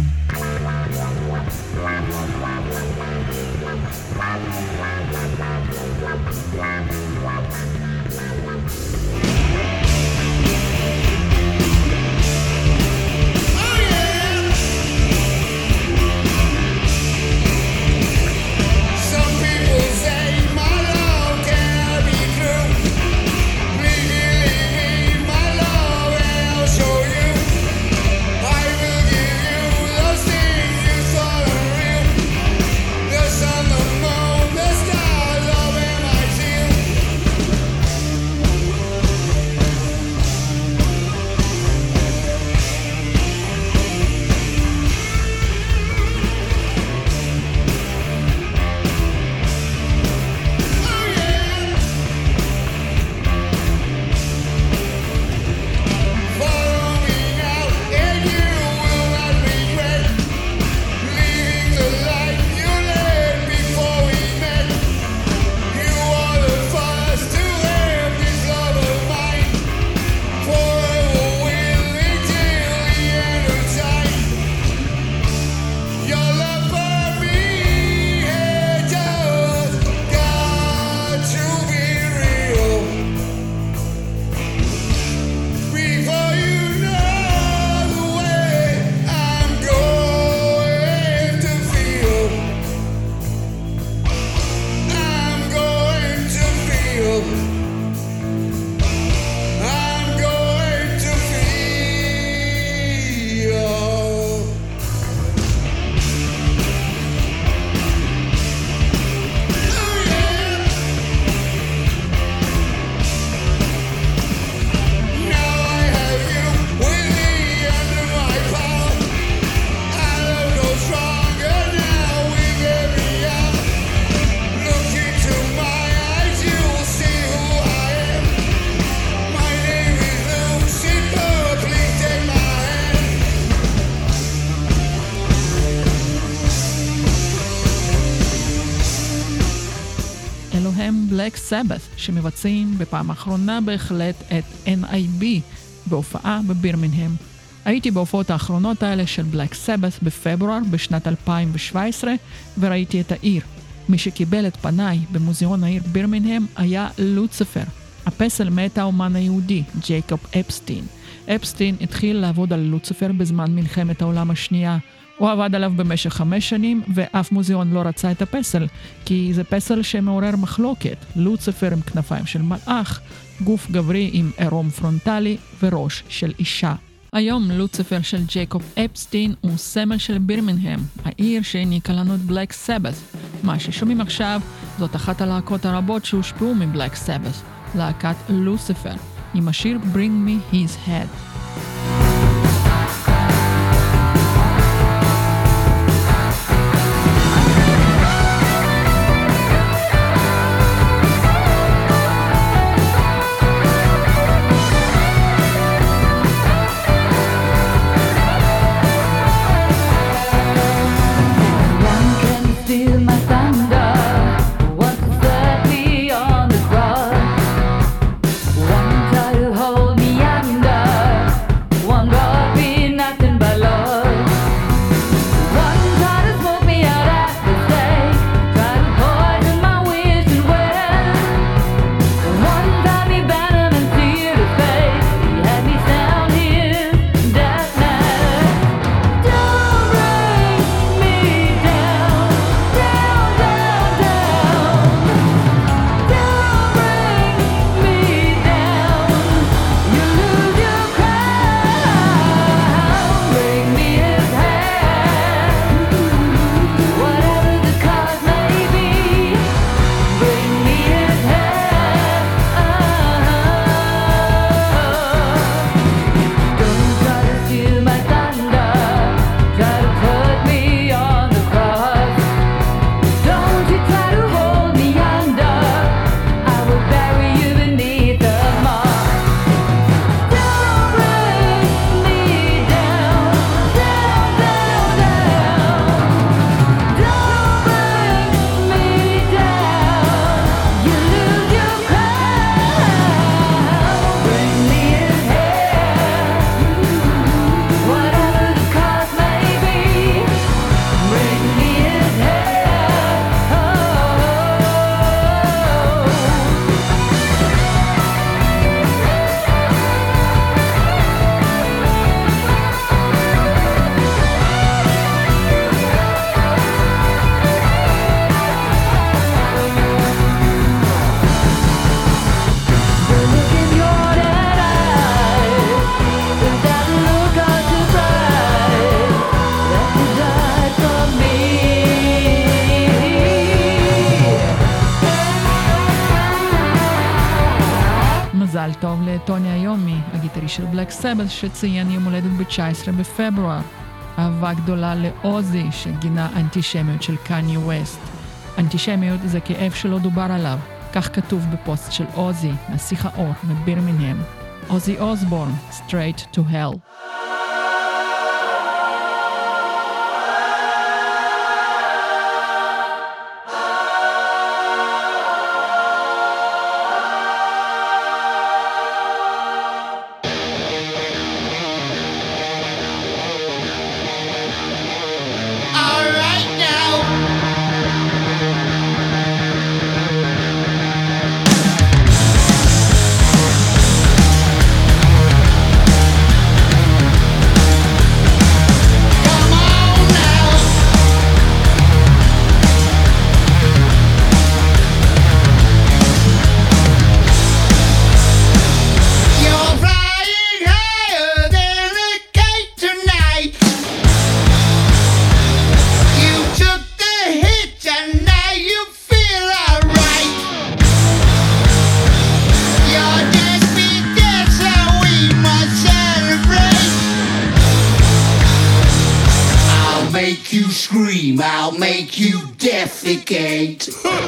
בלק סבת, שמבצעים בפעם האחרונה בהחלט את אן איי בי בהופעה בבירמינגהם. הייתי בהופעות האחרונות האלה של בלק סבת בפברואר בשנת אלפיים שבע עשרה וראיתי את העיר. מי שקיבל את פניי במוזיאון העיר בירמינגהם היה לוציפר, הפסל מאת האומן היהודי ג'ייקוב אפסטין. אפסטין התחיל לעבוד על לוציפר בזמן מלחמת העולם השנייה. הוא עבד עליו במשך חמש שנים, ואף מוזיאון לא רצה את הפסל, כי זה פסל שמעורר מחלוקת. לוציפר עם כנפיים של מלאך, גוף גברי עם עירום פרונטלי וראש של אישה. היום לוציפר של ג'ייקוב אפסטין הוא סמל של בירמינגהם, העיר שהעניקה לנו את בלק סבת. מה ששומעים עכשיו זאת אחת הלהקות הרבות שהושפעו מבלק סבת, להקת לוציפר, עם השיר Bring Me His Head. מזל טוב לטוני איומי, הגיטריסט של בלק סבת, שציין יום הולדת ב-תשעה עשר בפברואר. אהבה גדולה לאוזי, שגינה אנטישמיות של קניה ווסט. אנטישמיות זה כאב שלא דובר עליו, כך כתוב בפוסט של אוזי, נסיך האור מבירמינגהם. אוזי אוסבורן, Straight to Hell. I'll make you defecate.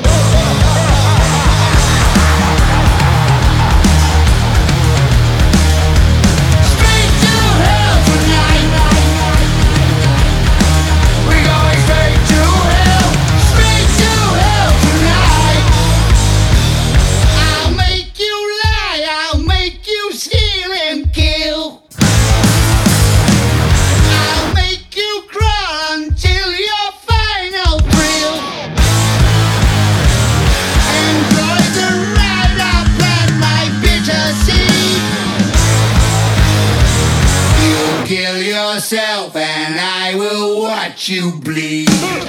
Yourself and I will watch you bleed.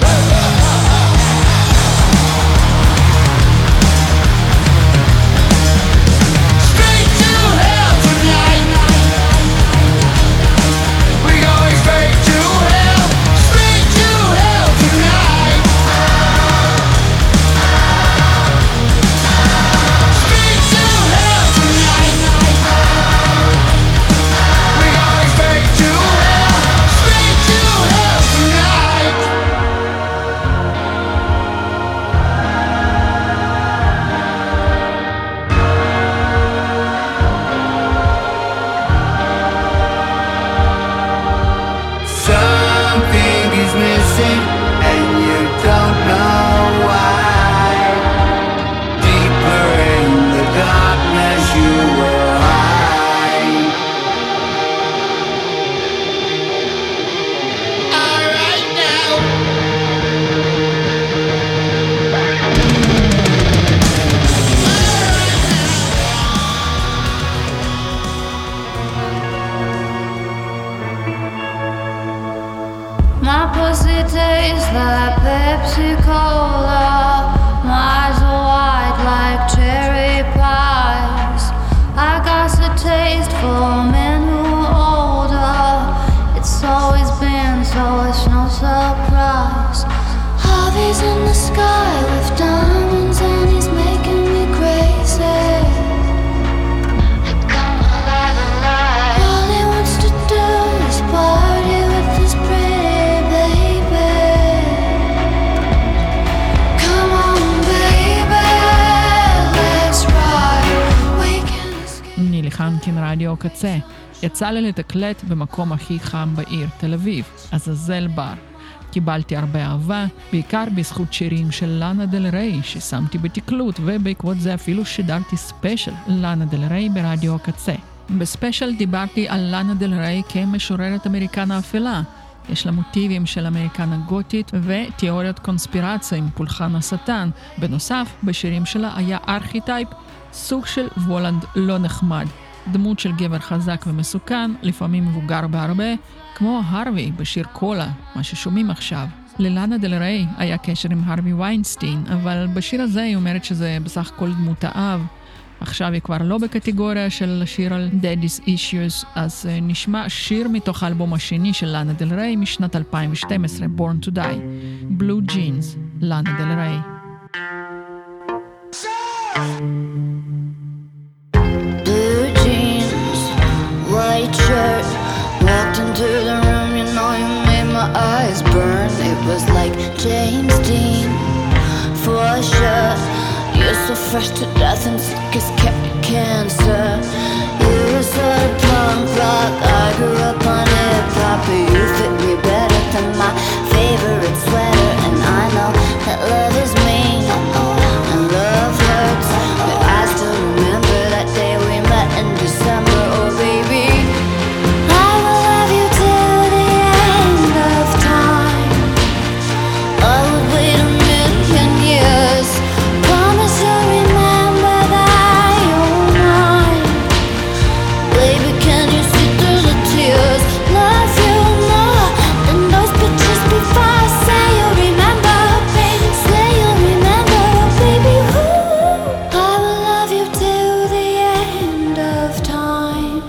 רדיו קצה. יצא לי לתקלט במקום הכי חם בעיר, תל אביב, עזאזל בר. קיבלתי הרבה אהבה, בעיקר בזכות שירים של לאנה דל ריי ששמתי בתקלוט, ובעקבות זה אפילו שידרתי ספיישל לאנה דל ריי ברדיו הקצה. בספיישל דיברתי על לאנה דל ריי כמשוררת אמריקנה אפלה. יש לה מוטיבים של אמריקנה גותית ותיאוריות קונספירציה עם פולחן השטן. בנוסף, בשירים שלה היה ארכיטייפ, סוג של וולנד לא נחמד. דמות של גבר חזק ומסוכן, לפעמים מבוגר בהרבה, כמו הרווי בשיר קולה, מה ששומעים עכשיו. ללאנה דל ריי היה קשר עם הרווי ויינסטיין, אבל בשיר הזה היא אומרת שזה בסך הכל דמות האב. עכשיו היא כבר לא בקטגוריה של שיר על Daddy's Issues, אז נשמע שיר מתוך האלבום השני של לאנה דל ריי משנת אלפיים ושתים עשרה, Born to Die, Blue Jeans, לאנה דל ריי. Blue so fresh to death and sick as cancer. You're a sort of punk rock, I grew up on hip-hop, but you fit me better than my favorite sweater. And I know that love is mean, and love hurts, but I still remember that day we met in December. Oh baby, I will love you till the end of time. I would wait a million years, promise you'll remember that you're mine. Baby, can you see through the tears? Love you more than those pictures before. Say you'll remember, baby, say you'll remember, baby. Ooh, I will love you till the end of time.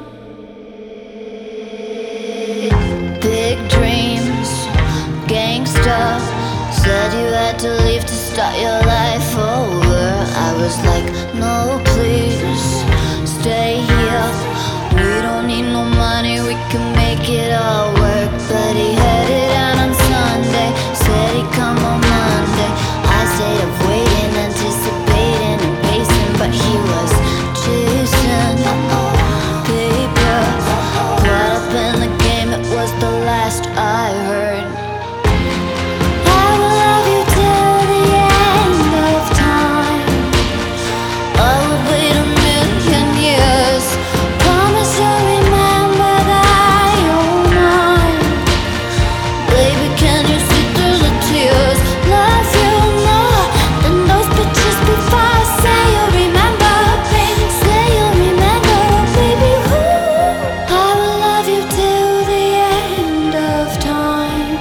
Big dreams, gangsta, said you had to leave to start your life over. I was like, no please, stay here. We don't need no money, we can make it all work. But he headed out on Sunday, said he'd come on Monday. I stayed up waiting, anticipating and pacing, but he was chasing paper. Caught up in the game, it was the last I heard. I will love you till the end of time. I would wait a million years, promise you'll remember that you're mine. Baby, can you see through the tears? Love you more than those pictures before. Say you'll remember, baby, say you'll remember, baby. Ooh, I will love you till the end of time.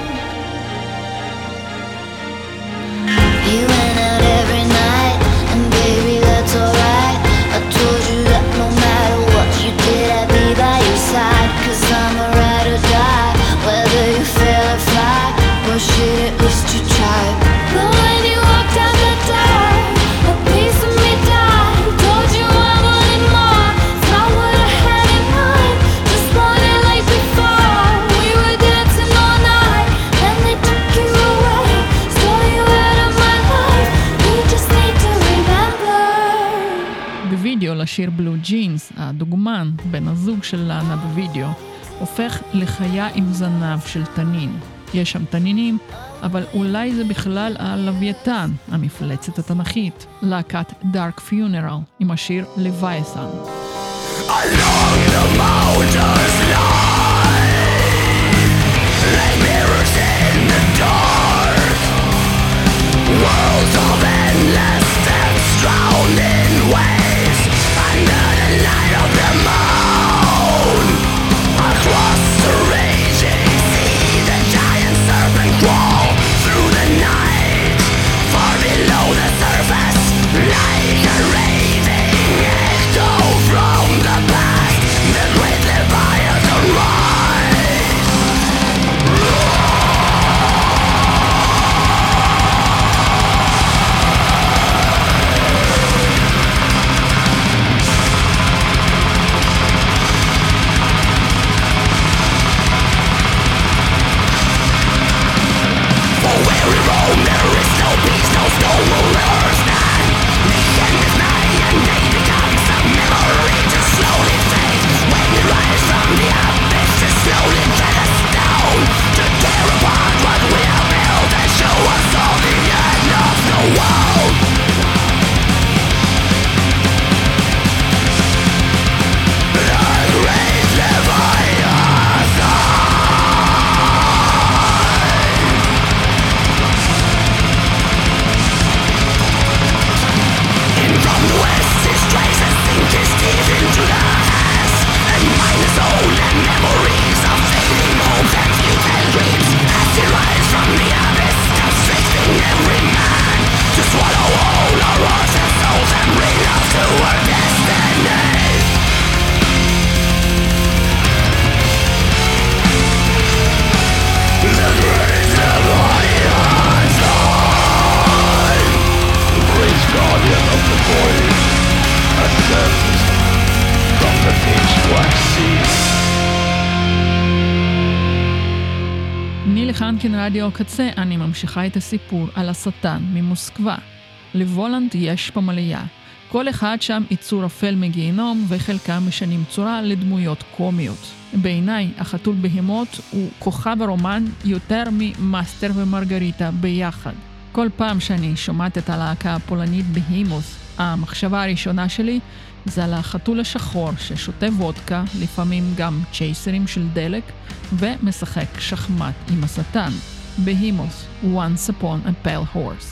You went out every night, and baby, that's alright. I told you that no matter what you did, I'd be by your side. Cause I'm a ride or die, whether you fail or fly. Well shit, at least you tried. But when you walked out the door, a piece of me died. Told you I wanted more, it's not what I had in mind. Just wanted like before, we were dancing all night. Then they took you away, stole you out of my life. We just need to remember. בווידאו לשיר בלו ג'ינס, הדוגמן, בן הזוג של לאנה בווידאו, הופך לחיה עם זנב של תנין. יש שם תנינים, אבל אולי זה בכלל הלוויתן, המפלצת התנכית, להקת דארק פיונרל, עם השיר לווייתן. Along the mountains lie, like mirrors in the dark, worlds of endless depths drowned in waves, under the light of the moon. Across the raging sea, the giant serpent crawl through the night, far below the surface, like a raving echo from the past. The great Leviathan rise. For where we roam, there is no peace, no stone will ever stand. The end is nigh, and day becomes a memory to slowly fade. When we rise from the abyss, to slowly get us down, to tear apart what we have built and show us all the end of the world. The great Leviathan. In from the west, his traces sink his teeth into the ass, and mine his soul and memories of fading hopes and futile dreams. As he rises from the abyss, constricting every man to swallow all our hearts and souls and bring us to our destiny. The great Leviathan, great guardian of the void, ascends from the pitch black sea. ניל חנקין רדיו קצה, אני ממשיכה את הסיפור על השטן ממוסקבה. לוולנד יש פמליה. כל אחד שם יצור אפל מגיהנום וחלקם משנים צורה לדמויות קומיות. בעיניי החתול בהמות הוא כוכב הרומן יותר ממאסטר ומרגריטה ביחד. כל פעם שאני שומעת את הלהקה הפולנית בהימוס, המחשבה הראשונה שלי זה על החתול השחור ששותה וודקה, לפעמים גם צ'ייסרים של דלק, ומשחק שחמט עם השטן. בהימוס, Once Upon a Pale Horse.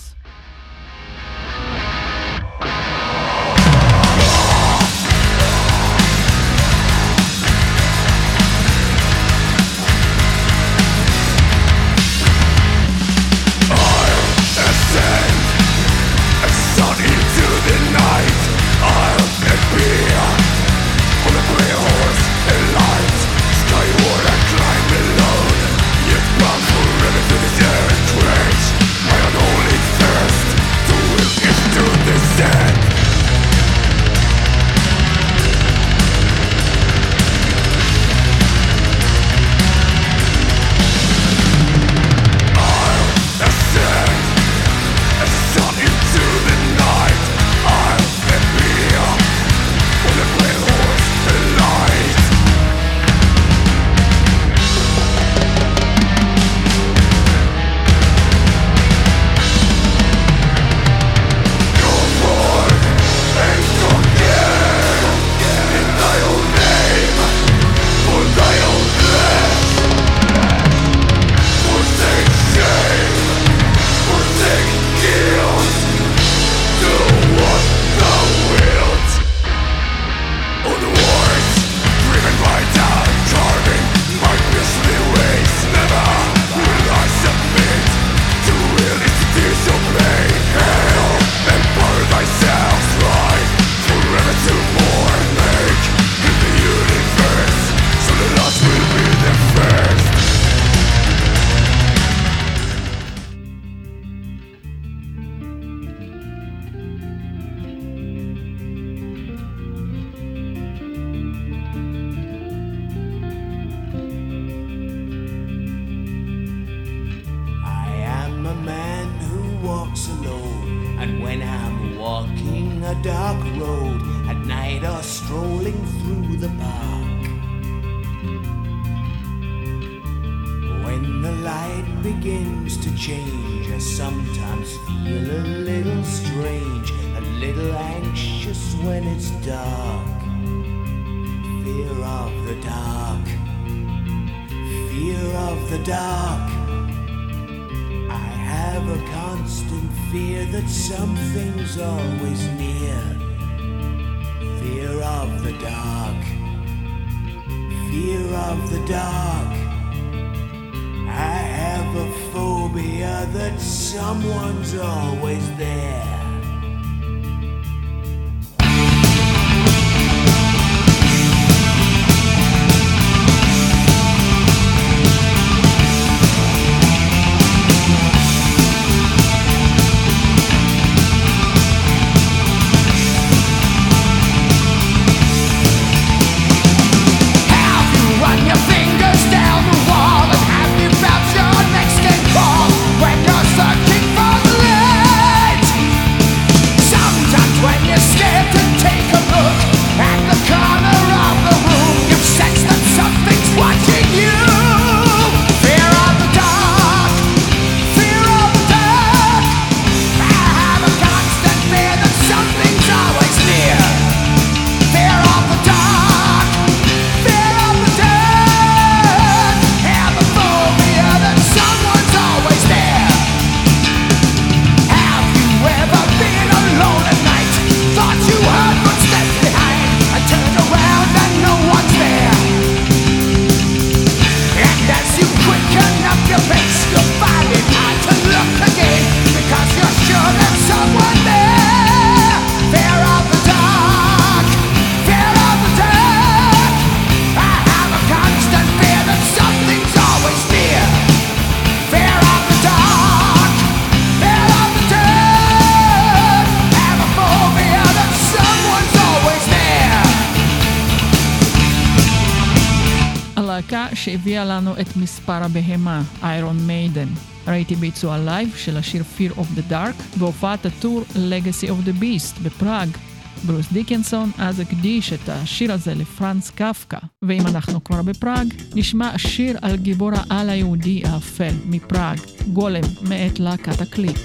When you're searching for the light, שהביאה לנו את מספר הבהמה, איירון מיידן. ראיתי ביצוע לייב של השיר Fear of the Dark בהופעת הטור Legacy of the Beast בפראג. ברוס דיקנסון אז הקדיש את השיר הזה לפרנץ קפקא. ואם אנחנו כבר בפראג, נשמע שיר על גיבור העל היהודי האפל מפראג, גולם מאת להקת הקליק.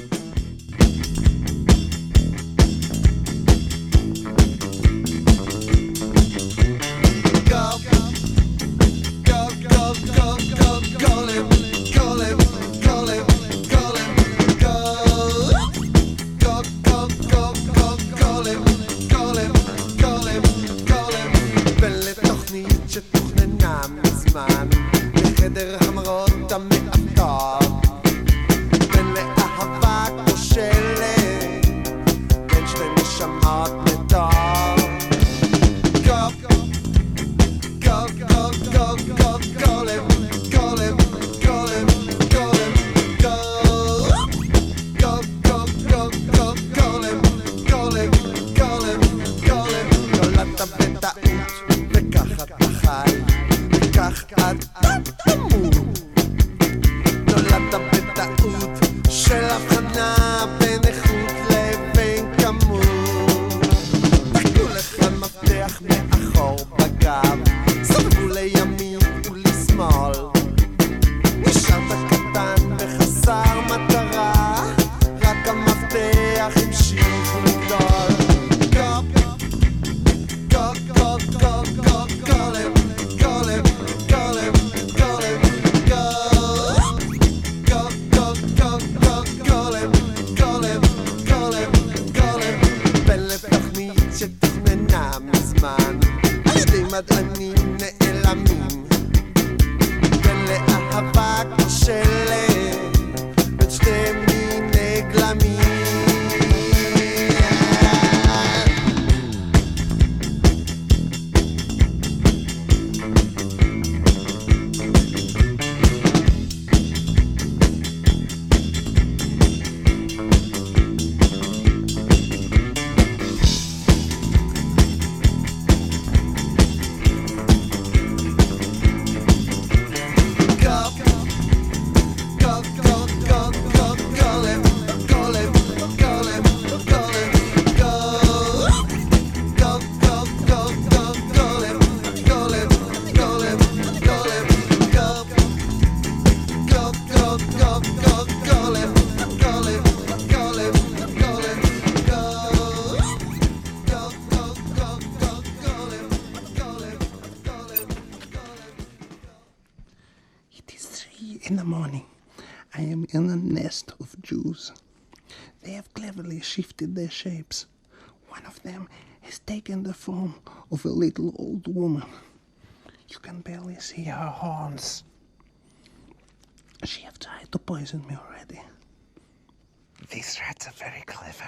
In the morning, I am in a nest of Jews. They have cleverly shifted their shapes. One of them has taken the form of a little old woman. You can barely see her horns. She have tried to poison me already. These rats are very clever.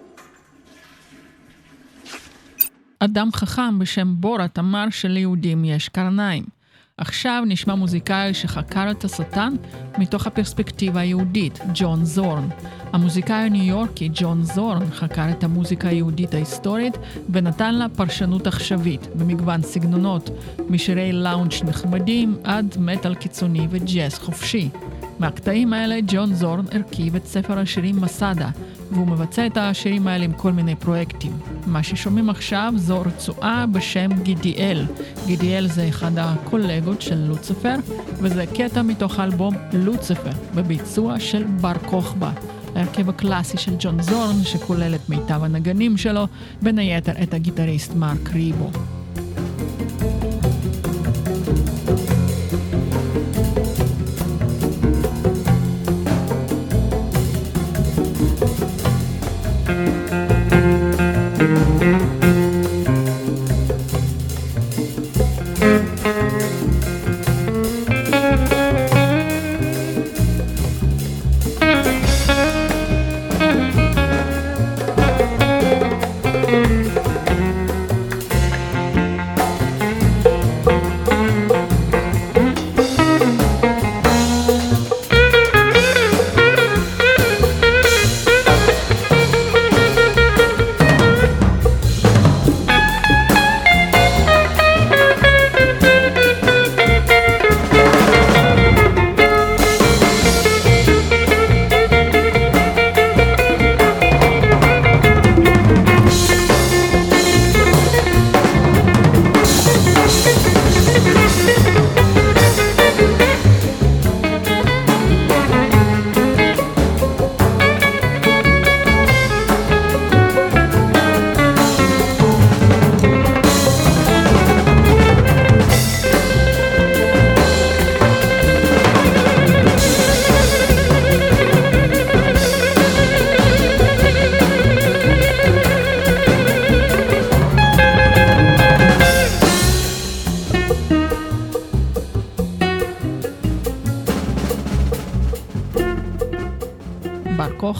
אדם חכם בשם בורת אמר שליהודים יש קרניים. עכשיו נשמע מוזיקאי שחקר את השטן מתוך הפרספקטיבה היהודית, ג'ון זורן. המוזיקאי הניו יורקי ג'ון זורן חקר את המוזיקה היהודית ההיסטורית ונתן לה פרשנות עכשווית במגוון סגנונות, משירי לאונג' נחמדים עד מטל קיצוני וג'אז חופשי. מהקטעים האלה ג'ון זורן הרכיב את ספר השירים מסדה, והוא מבצע את השירים האלה עם כל מיני פרויקטים. מה ששומעים עכשיו זו רצועה בשם גידיאל. גידיאל זה אחד הקולגות של לוציפר, וזה קטע מתוך האלבום לוציפר, בביצוע של בר כוכבא, ההרכב הקלאסי של ג'ון זורן, שכולל את מיטב הנגנים שלו, בין היתר את הגיטריסט מרק ריבו.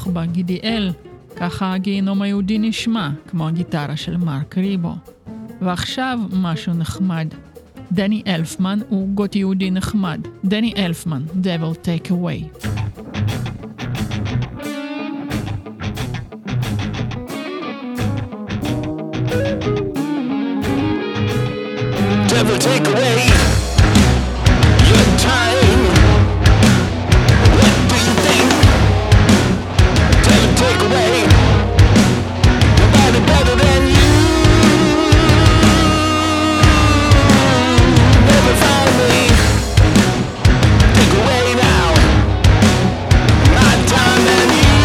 לתמוך בגידיאל, ככה הגיהנום היהודי נשמע, כמו הגיטרה של מרק ריבו. ועכשיו משהו נחמד. דני אלפמן הוא גות יהודי נחמד. דני אלפמן, Devil Take Away. Devil take away your time. What do you think? Devil take away nobody better than you. Never find me. Take away now my time and you.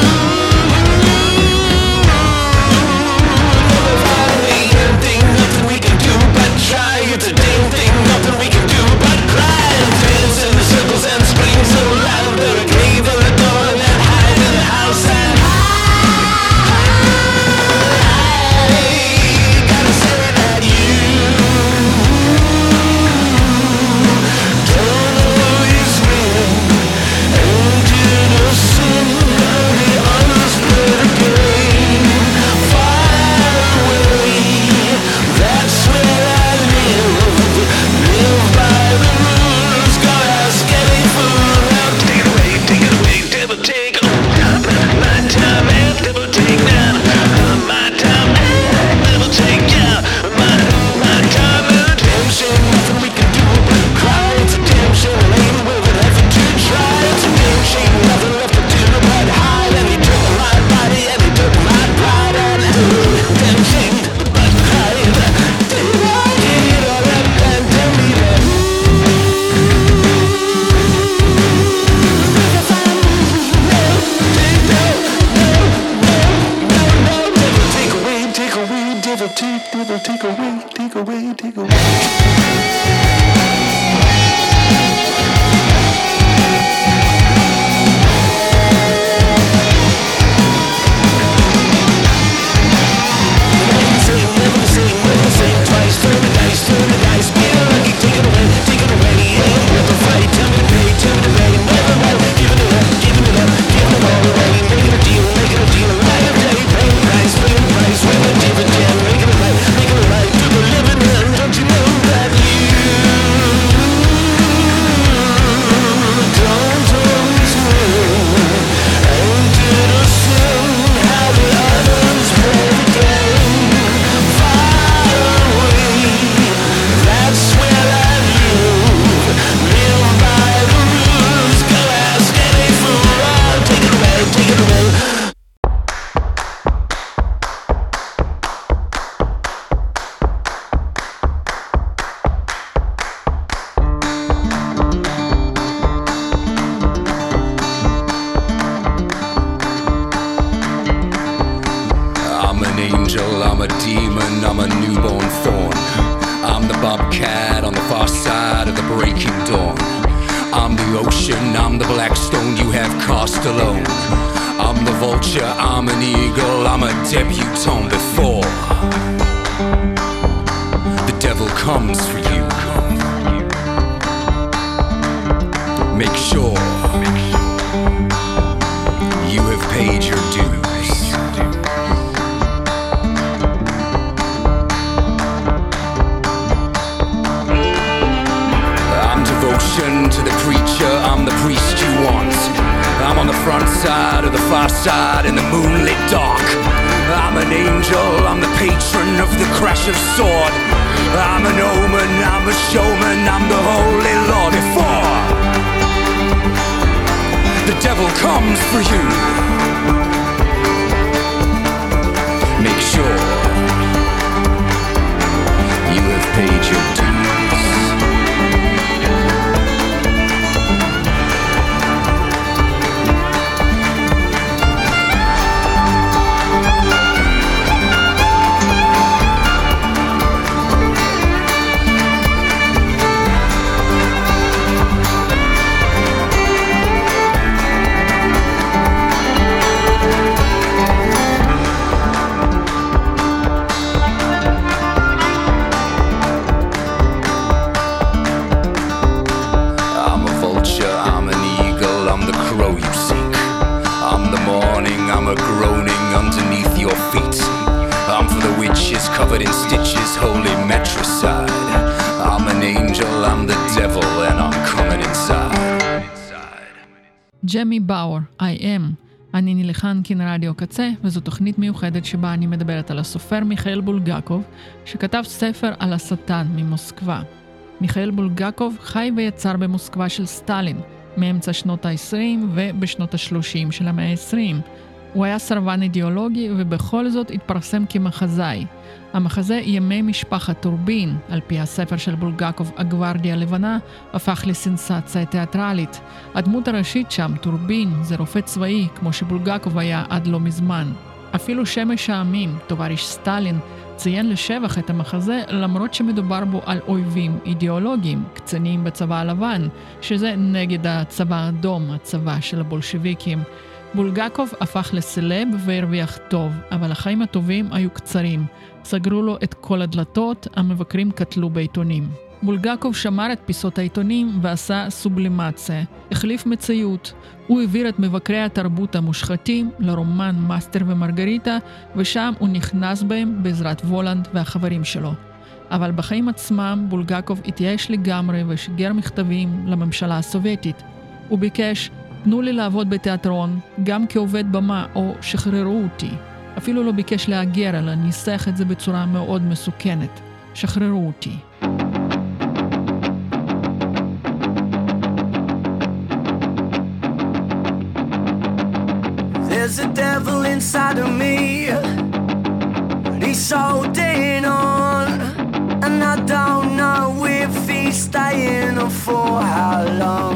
Never find me. Anything, nothing we can do but try. It's a damn thing, nothing we can do but cry and dance in the circles and scream so loud. There a cave in the door and hide in the house and I gotta say that you don't always win and innocent of the unsplit game. Far away, that's where I live. Live by the rules, gotta ask any fool. Now take it away, take it away, devil take my time and devil take now. My time and devil take yeah. My my time and damn shame, nothing we can do but cry. It's a damn shame, ain't worth it effort to try. It's a damn shame, nothing left to do but hide. And he took my body and he took my pride and damn shame but cry. Did I get it all up and tell me that? Take away, take away, devil take, devil take away, take away, take away. Never the same, never the same, twice, turn the dice, turn the dice, be lucky, take it away, take it away, ain't worth the fight, tell me to pay, tell me to pay, never mind, giving it up, giving it up, giving it all away, making a deal, making a deal, light of day, paying the price, paying the price, when the dividend, making it right, making it right, to the living end, don't you know that you don't always win, and innocent how the others play the game. Far away, that's where I live. Live by the rules, go ask any fool. I'll take it away, take it away. I'm an angel, I'm a demon, I'm a newborn fawn. I'm the bobcat on the far side of the breaking dawn. I'm the ocean, I'm the black stone you have cast alone. I'm the vulture, I'm an eagle, I'm a debutante before the devil comes for you. Make sure you have paid your dues. I'm devotion to the preacher, I'm the priest you want. I'm on the front side of the far side in the moonlit dark. I'm an angel, I'm the patron of the crash of sword. I'm an omen, I'm a showman, I'm the holy Lord. Before the devil comes for you, make sure you have paid your dues. witches covered in stitches, holy matricide. I'm an angel, I'm the devil, and I'm coming inside. ג'מי באואר, I am. אני נילחן כאן רדיו קצה, וזו תוכנית מיוחדת שבה אני מדברת על הסופר מיכאל בולגקוב, שכתב ספר על השטן ממוסקבה. מיכאל בולגקוב חי ויצר במוסקבה של סטלין, מאמצע שנות ה-עשרים ובשנות ה-שלושים של המאה ה-עשרים. הוא היה סרבן אידיאולוגי ובכל זאת התפרסם כמחזאי. המחזה ימי משפחת טורבין, על פי הספר של בולגקוב, הגווארדיה הלבנה, הפך לסנסציה תיאטרלית. הדמות הראשית שם, טורבין, זה רופא צבאי, כמו שבולגקוב היה עד לא מזמן. אפילו שמש העמים, תובריש סטלין, ציין לשבח את המחזה, למרות שמדובר בו על אויבים אידיאולוגיים, קצינים בצבא הלבן, שזה נגד הצבא האדום, הצבא של הבולשביקים. בולגקוב הפך לסלב והרוויח טוב, אבל החיים הטובים היו קצרים. סגרו לו את כל הדלתות, המבקרים קטלו בעיתונים. בולגקוב שמר את פיסות העיתונים ועשה סובלימציה, החליף מציאות. הוא העביר את מבקרי התרבות המושחתים לרומן מאסטר ומרגריטה, ושם הוא נכנס בהם בעזרת וולנד והחברים שלו. אבל בחיים עצמם בולגקוב התייאש לגמרי ושיגר מכתבים לממשלה הסובייטית. הוא ביקש, תנו לי לעבוד בתיאטרון, גם כעובד במה, או שחררו אותי. אפילו לא ביקש להגר, אלא ניסח את זה בצורה מאוד מסוכנת. שחררו אותי. There's a devil inside of me, and he's holding on, and I don't know if he's staying or for how long.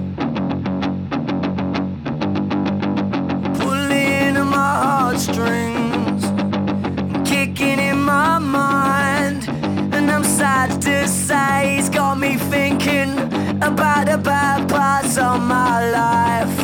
Pulling at my heartstrings, kicking in my mind, and I'm sad to say he's got me thinking about the bad parts of my life.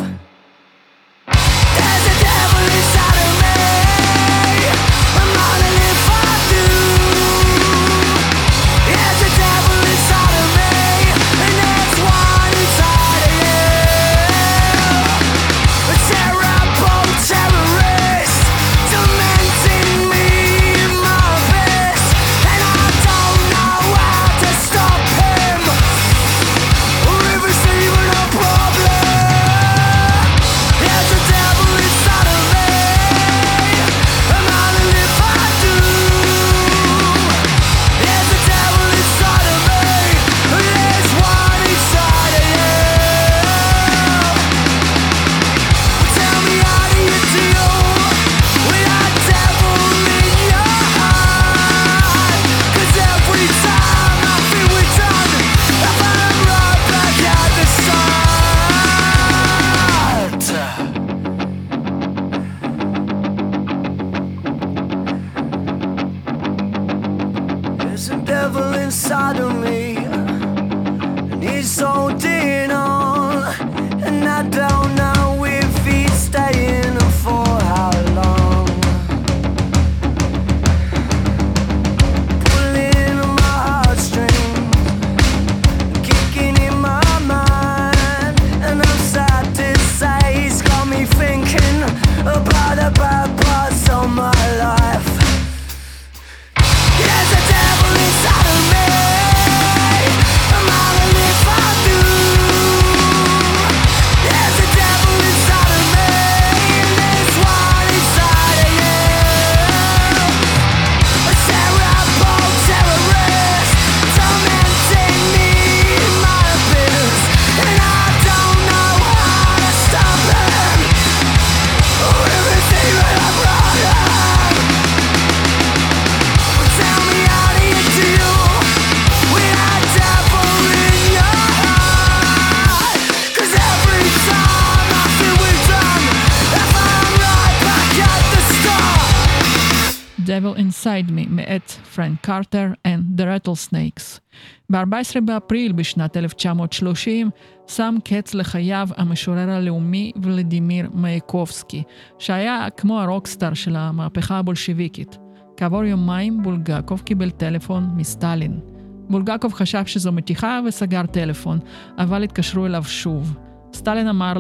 Devil Inside Me מאת פרנק קרטר and the Rattlesnakes. ב-ארבעה עשר באפריל בשנת אלף תשע מאות שלושים שם קץ לחייו המשורר הלאומי ולדימיר מייקובסקי, שהיה כמו הרוקסטאר של המהפכה הבולשביקית. כעבור יומיים בולגקוב קיבל טלפון מסטלין. בולגקוב חשב שזו מתיחה וסגר טלפון, אבל התקשרו אליו שוב. סטלין אמר לו,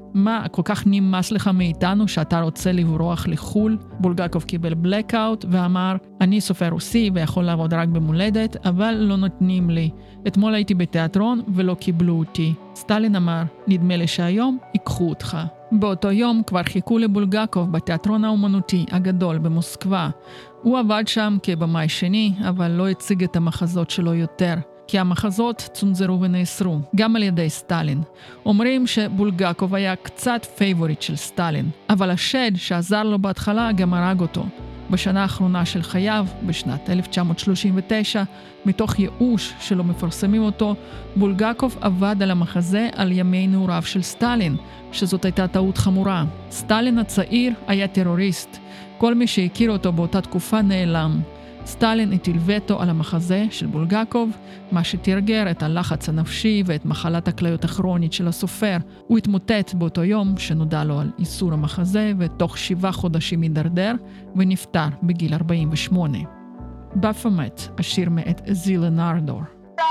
מה, כל כך נמאס לך מאיתנו שאתה רוצה לברוח לחול? בולגקוב קיבל בלקאוט ואמר, אני סופר רוסי ויכול לעבוד רק במולדת, אבל לא נותנים לי. אתמול הייתי בתיאטרון ולא קיבלו אותי. סטלין אמר, נדמה לי שהיום ייקחו אותך. באותו יום כבר חיכו לבולגקוב בתיאטרון האומנותי הגדול במוסקבה. הוא עבד שם כבמאי שני, אבל לא הציג את המחזות שלו יותר. כי המחזות צונזרו ונאסרו, גם על ידי סטלין. אומרים שבולגקוב היה קצת פייבוריט של סטלין, אבל השד שעזר לו בהתחלה גם הרג אותו. בשנה האחרונה של חייו, בשנת אלף תשע מאות שלושים ותשע, מתוך ייאוש שלא מפרסמים אותו, בולגקוב עבד על המחזה על ימי נעוריו של סטלין, שזאת הייתה טעות חמורה. סטלין הצעיר היה טרוריסט. כל מי שהכיר אותו באותה תקופה נעלם. סטלין הטיל וטו על המחזה של בולגקוב, מה שתרגר את הלחץ הנפשי ואת מחלת הכליות הכרונית של הסופר. הוא התמוטט באותו יום שנודע לו על איסור המחזה, ותוך שבעה חודשים הידרדר ונפטר בגיל ארבעים ושמונה. בפאמט, השיר מאת זילנרדור.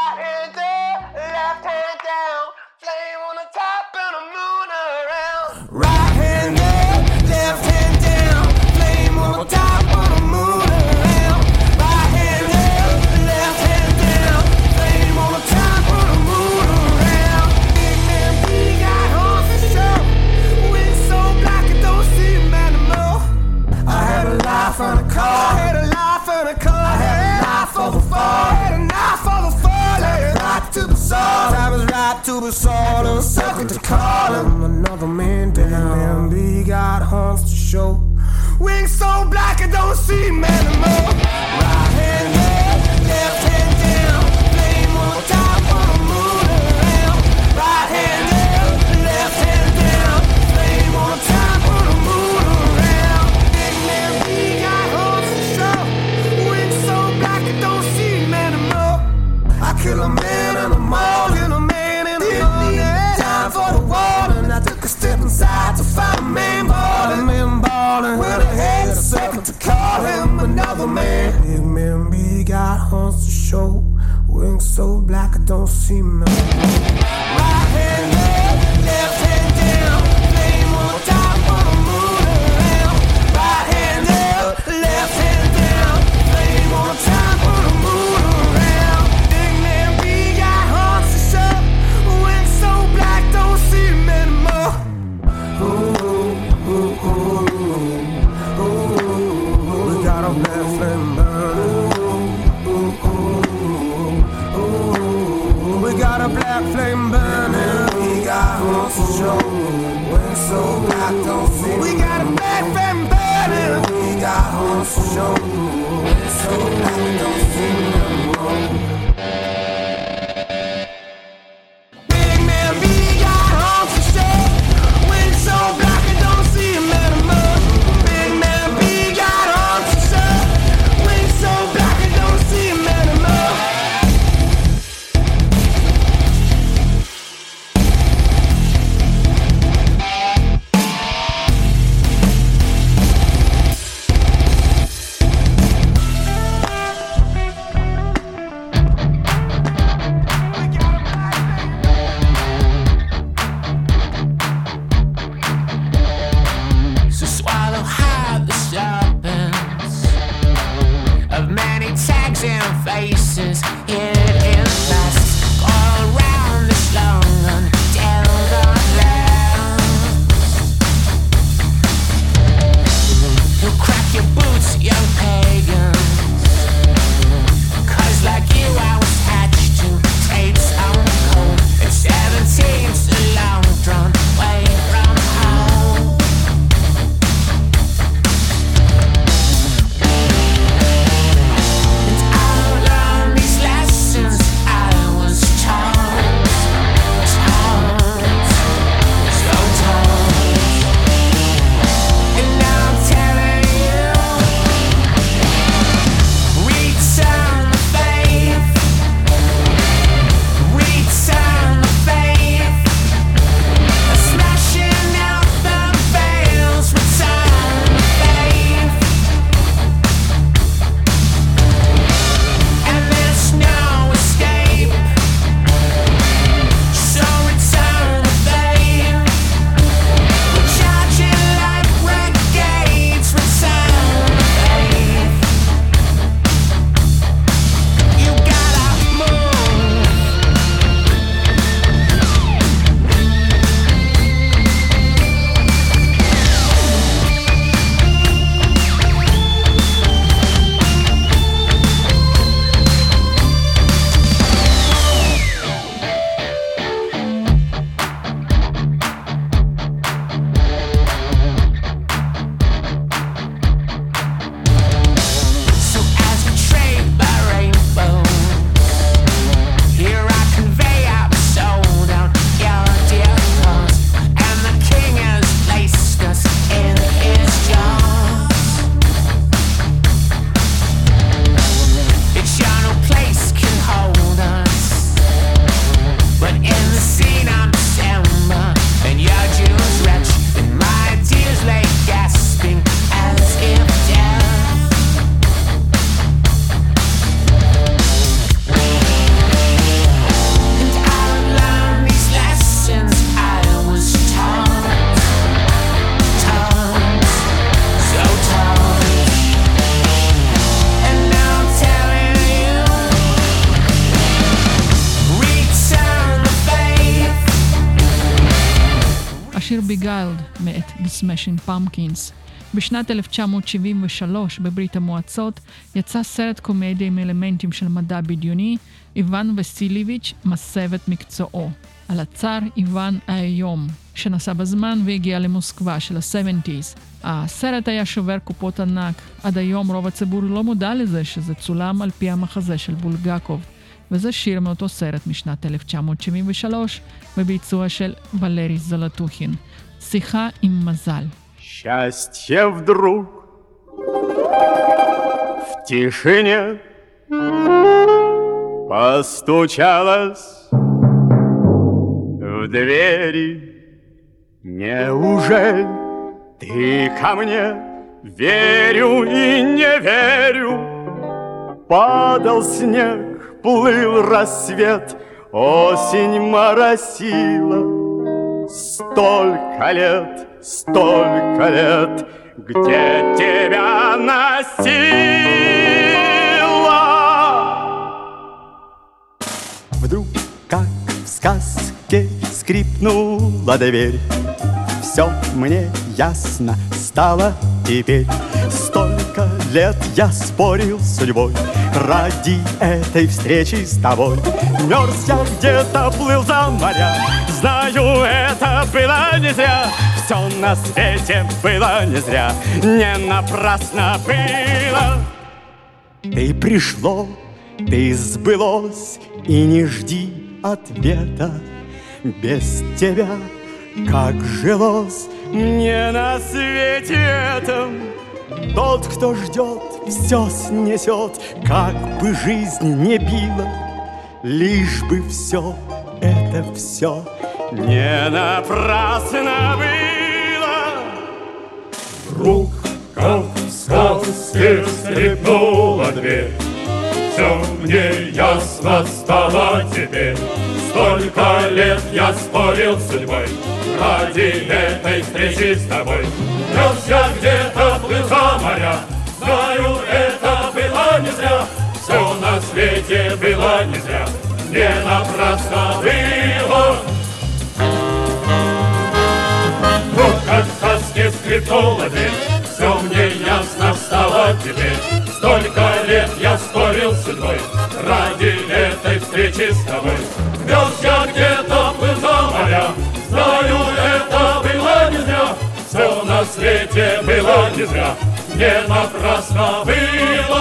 Right hand up, left hand down, flame on the top of the moon around. Right hand up, left hand down, flame on the top of the moon around. Big man, we got horns to show, wings so black it don't see him anymore. I had a life on a car, I had a life on a car, I had a knife for the fall, I had a knife for the fall. I was right to the soul, I was right to the soul, and sucking to call him another man down. Man, we got horns to show, wings so black I don't see him anymore. Right hand up, left hand down, flame on the top of the moon around. Right hand up, left hand down, flame on the top of the moon around. Big man, we got horns to show, wings so black I don't see him anymore. I kill a man and a mall, kill a man and a mall. Time for the water, and I took a step inside to find a man ballin', man ballin'. Well, I had a second to call him another man. Big man, we got horns to show, wings so black I don't see him. Right hand up, left hand down, flame on the top of the moon around. Right hand up, left hand down, flame on the top of the moon around. Big man, we got horns to show, wings so black don't see him anymore. Ooh, ooh, ooh, ooh, we got a black flame burning. Ooh, ooh, ooh, we got a black flame burning. We got horns to show, wings so black don't see. We got a black flame burning. We got horns to show, wings so black don't see anymore. Big man, we got horns to show, wings so black I don't see him anymore. Big man, we got horns to show, wings so black I don't see him anymore. Beguiled מאת The Smashing Pumpkins. בשנת אלף תשע מאות שבעים ושלוש בברית המועצות יצא סרט קומדיה עם אלמנטים של מדע בדיוני, איוון וסיליביץ' מסב את מקצועו, על הצאר איוון האיום, שנסע בזמן והגיע למוסקבה של ה-שבעים. הסרט היה שובר קופות ענק. עד היום רוב הציבור לא מודע לזה שזה צולם על פי המחזה של בולגקוב, וזה שיר מאותו סרט משנת אלף תשע מאות שבעים ושלוש בביצוע של ולרי זלטוכין, שיחה עם מזל. Счастье вдруг в тишине постучалось в двери. Неужели ты ко мне? Верю и не верю. Падал снег, плыл рассвет, осень моросила. Столько лет, столько лет, где тебя носила. Вдруг, как в сказке, скрипнула дверь. Все мне ясно стало теперь. Столько лет я спорил с судьбой ради этой встречи с тобой. Мерз я где-то, плыл за моря. Знаю, это было не зря. Все на свете было не зря. Не напрасно было. Ты пришло, ты сбылось, и не жди ответа. Без тебя как жилось мне на свете этом. Тот, кто ждет, все снесет, как бы жизнь не била. Лишь бы все, это все не напрасно было. Вдруг, как в сказке, скрипнула дверь. Все мне ясно стало теперь. Столько лет я спорил с судьбой ради этой встречи с тобой. Мерз я где-то, плыл за моря. Знаю, это было не зря. Все на свете было не зря. Не напрасно было. Вот как в сказке скрипнула дверь. Все мне ясно стало теперь. Столько лет я спорил с судьбой ради этой встречи с тобой. Мерз я где-то, плыл за моря. Знаю, это было не зря. Все на свете было не зря. Не напрасно было.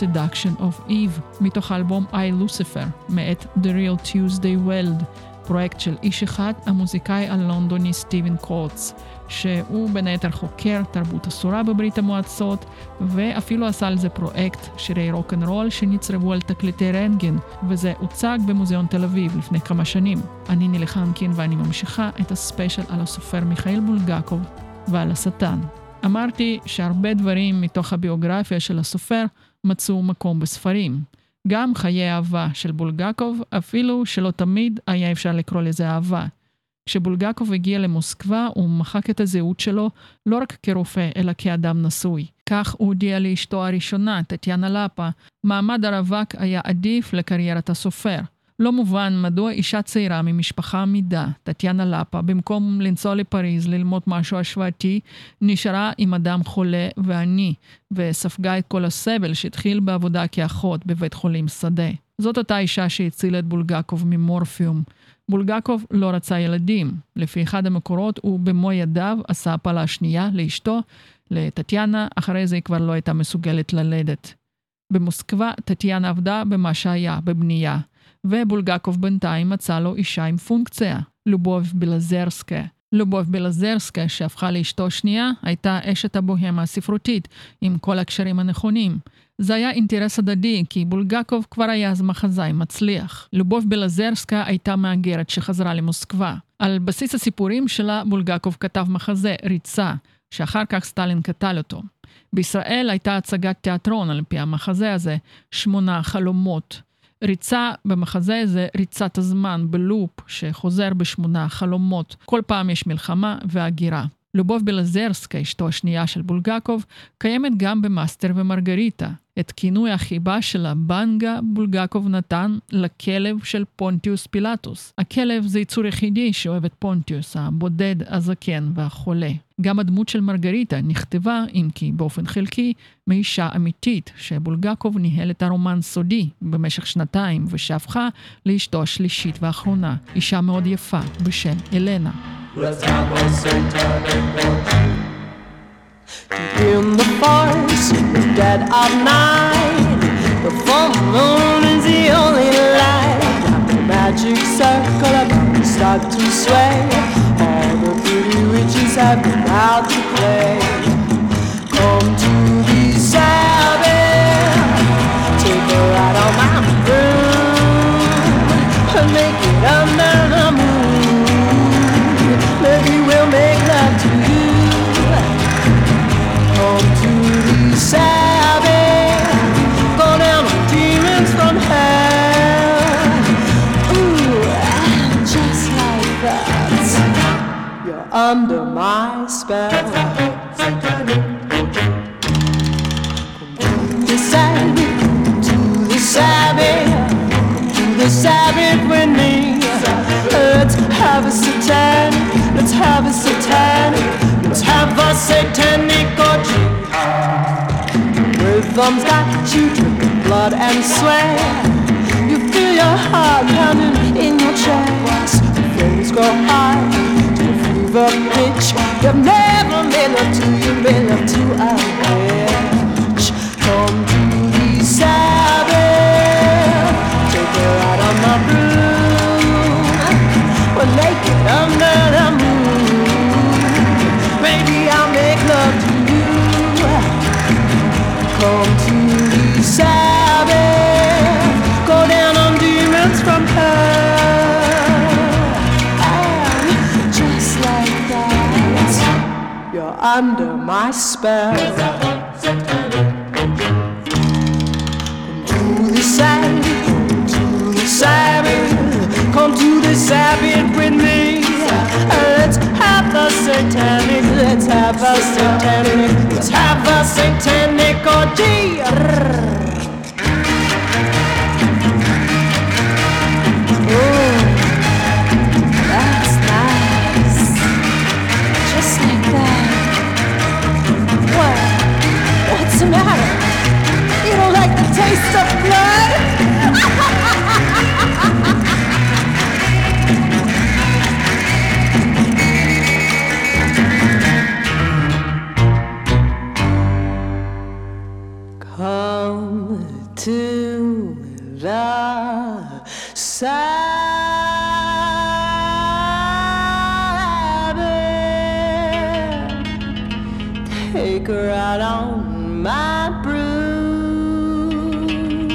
Seduction of Eve, מתוך האלבום I Lucifer, מאת The Real Tuesday Weld, פרויקט של איש אחד, המוזיקאי הלונדוני סטיבן קורץ, שהוא בין היתר חוקר תרבות אסורה בברית המועצות, ואפילו עשה על זה פרויקט שירי רוק'נ'רול שנצרבו על תקליטי רנטגן, וזה הוצג במוזיאון תל אביב לפני כמה שנים. אני נילי חנקין ואני ממשיכה את הספיישל על הסופר מיכאיל בולגקוב ועל השטן. אמרתי שהרבה דברים מתוך הביוגרפיה של הסופר מצאו מקום בספרים. גם חיי אהבה של בולגקוב, אפילו שלא תמיד היה אפשר לקרוא לזה אהבה. כשבולגקוב הגיע למוסקבה, הוא מחק את הזהות שלו לא רק כרופא, אלא כאדם נשוי. כך הוא הודיע לאשתו הראשונה, טטיאנה לפא, מעמד הרווק היה עדיף לקריירת הסופר. לא מובן מדוע אישה צעירה ממשפחה עמידה, טטיאנה לפא, במקום לנסוע לפריז ללמוד משהו השוואתי, נשארה עם אדם חולה ועני, וספגה את כל הסבל שהתחיל בעבודה כאחות בבית חולים שדה. זאת אותה אישה שהצילה את בולגקוב ממורפיום. בולגקוב לא רצה ילדים. לפי אחד המקורות הוא במו ידיו עשה הפלה שנייה לאשתו, לטטיאנה, אחרי זה היא כבר לא הייתה מסוגלת ללדת. במוסקבה טטיאנה עבדה במה שהיה, בבנייה. ובולגקוב בינתיים מצא לו אישה עם פונקציה, לובוב בלזרסקה. לובוב בלזרסקה, שהפכה לאשתו שנייה, הייתה אשת הבוהמה הספרותית, עם כל הקשרים הנכונים. זה היה אינטרס הדדי, כי בולגקוב כבר היה אז מחזאי מצליח. לובוב בלזרסקה הייתה מהגרת שחזרה למוסקבה. על בסיס הסיפורים שלה, בולגקוב כתב מחזה, ריצה, שאחר כך סטלין קטל אותו. בישראל הייתה הצגת תיאטרון על פי המחזה הזה, שמונה חלומות. ריצה במחזה זה ריצת הזמן בלופ שחוזר בשמונה חלומות. כל פעם יש מלחמה והגירה. לובוב בלזרסקה, אשתו השנייה של בולגקוב, קיימת גם במאסטר ומרגריטה. את כינוי החיבה של הבנגה בולגקוב נתן לכלב של פונטיוס פילטוס. הכלב זה יצור יחידי שאוהב את פונטיוס, הבודד, הזקן והחולה. גם הדמות של מרגריטה נכתבה, אם כי באופן חלקי, מאישה אמיתית, שבולגקוב ניהל את הרומן סודי במשך שנתיים, ושהפכה לאשתו השלישית והאחרונה, אישה מאוד יפה בשם אלנה. Let's have a satanic orgy. In the forest, the dead of night, the full moon is the only light. The magic circle of start to sway. All the pretty witches have been out to play. Come to the Sabbath, take a ride on my broom, and make it under the moon. Maybe we'll make love to you. Come to the Sabbath, go down on demons from hell. Ooh, just like that, you're under my spell. Come to the Sabbath, to the Sabbath, to the Sabbath with me. Let's have a satanic, let's have a satanic, let's have a satanic orgy. Rhythm's got you drinking blood and sweat. You feel your heart pounding in your chest. The flames go high to a fever pitch. You've never made love to, you've made love to a bitch. Come to the Sabbath, take a ride on my broom. We're naked under the moon. Maybe I'll make love to you. Come to the Sabbath, go down on demons from hell. And just like that, you're under my spell. Come to the Sabbath, to the Sabbath, come to the Sabbath with me. Let's have a satanic, let's have a satanic, let's have a satanic orgy. Oh, that's nice. Just like that. What? What's the matter? You don't like the taste of blood? liquor out on my broom.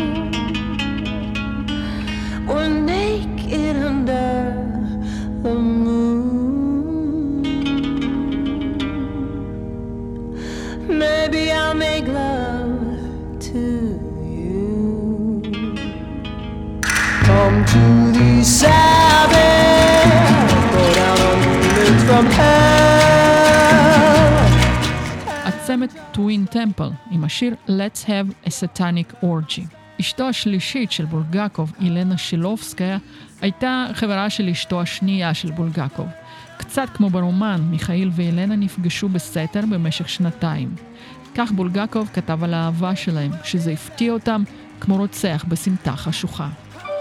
We're naked under the moon. Maybe I'll make love to you. Come to the Sabbath, go down on the lids from hell. עצמת טווין טמפל עם השיר Let's Have a Satanic Orgy. אשתו השלישית של בולגקוב, אילנה שילובסקיה, הייתה חברה של אשתו השנייה של בולגקוב. קצת כמו ברומן, מיכאיל ואילנה נפגשו בסתר במשך שנתיים. כך בולגקוב כתב על האהבה שלהם, שזה הפתיע אותם כמו רוצח בסמטה חשוכה.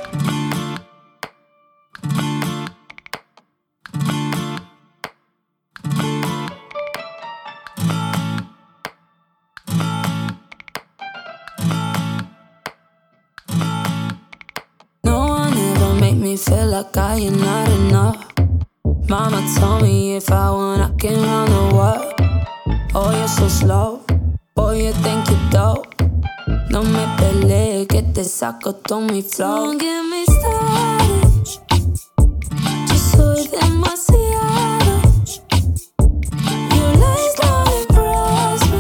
Feel like I am not enough. Mama told me if I want I can run the world. Oh, you're so slow. Boy, you think you're dope. No me pelees que te saco todo mi flow. Don't get me started. Yo soy demasiado. Your lies don't impress me.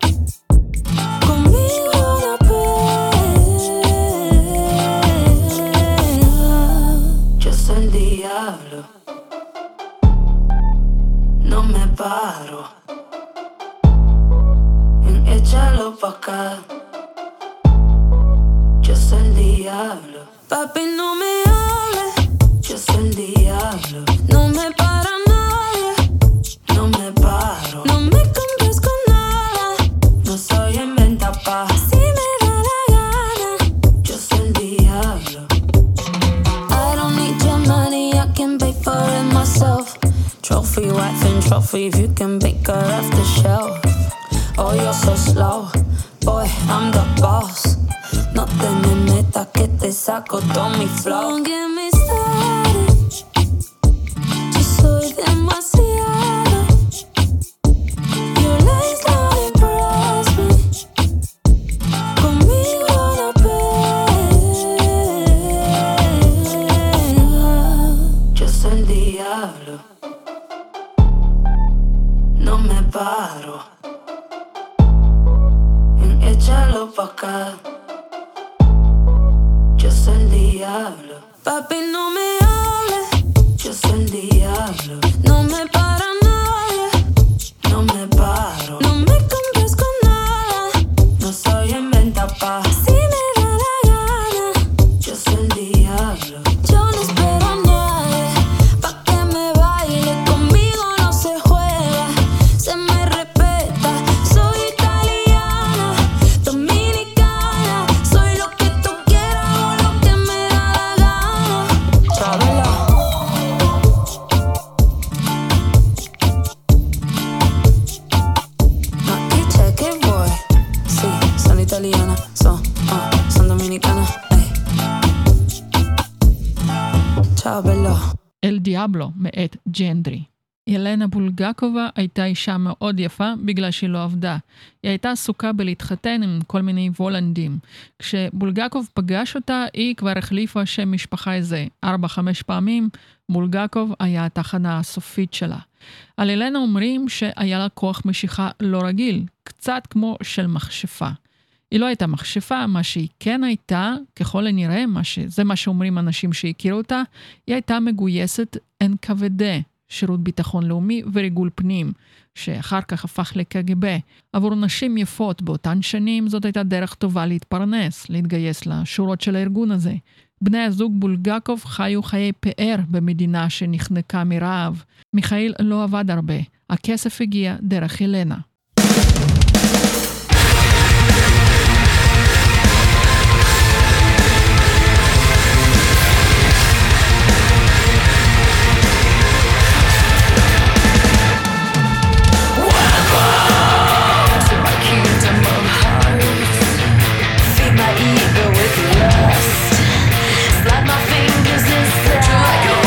Conmigo no puedes. Yo soy el diablo. No me paro. Échalo pa' acá. Yo soy el diablo. Papi, no me hables. Yo soy el diablo. No me para nadie. No me paro. No me compres con nada. No soy inventa pa' si me da la gana. Yo soy el diablo. I don't need your money. I can pay for it myself. Trophy wife and trophy. If you can pick her off the shelf. Oh, you're so slow, boy, I'm the boss. No te me metas que te saco todo mi flow. Don't get me started. Yo soy demasiado. Your lies don't impress me. Conmigo no pegas. Yo soy el diablo. No me paro. Échalo pa' acá. Yo soy el diablo. Papi, no me hables. Yo soy el diablo. No me para nadie. No me paro. No me compres con nada. No soy inventa pa' si me da la gana. Yo soy el diablo. Yo no espero a nadie pa' que me baile. Conmigo no se juega. Se me respeta. Soy italiana. Dominicana, soy lo que tú quieras o lo que me da la gana. Trábela. Aquí cheque boy. Sí, son italiana, son, uh, son dominicana. Ey. Trábela. אל דיאבלו מאת ג'נדרי. ילנה בולגקובה הייתה אישה מאוד יפה בגלל שהיא לא עבדה. היא הייתה עסוקה בלהתחתן עם כל מיני וולנדים. כשבולגקוב פגש אותה, היא כבר החליפה שם משפחה איזה ארבע חמש פעמים. בולגקוב היה התחנה הסופית שלה. על ילנה אומרים שהיה לה כוח משיכה לא רגיל, קצת כמו של מכשפה. היא לא הייתה מכשפה, מה שהיא כן הייתה, ככל הנראה, מה ש... זה מה שאומרים אנשים שהכירו אותה, היא הייתה מגויסת אן כבדה. שירות ביטחון לאומי וריגול פנים, שאחר כך הפך לקג"ב. עבור נשים יפות באותן שנים זאת הייתה דרך טובה להתפרנס, להתגייס לשורות של הארגון הזה. בני הזוג בולגקוב חיו חיי פאר במדינה שנחנקה מרעב. מיכאיל לא עבד הרבה, הכסף הגיע דרך ילנה.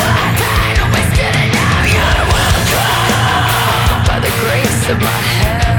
Of my head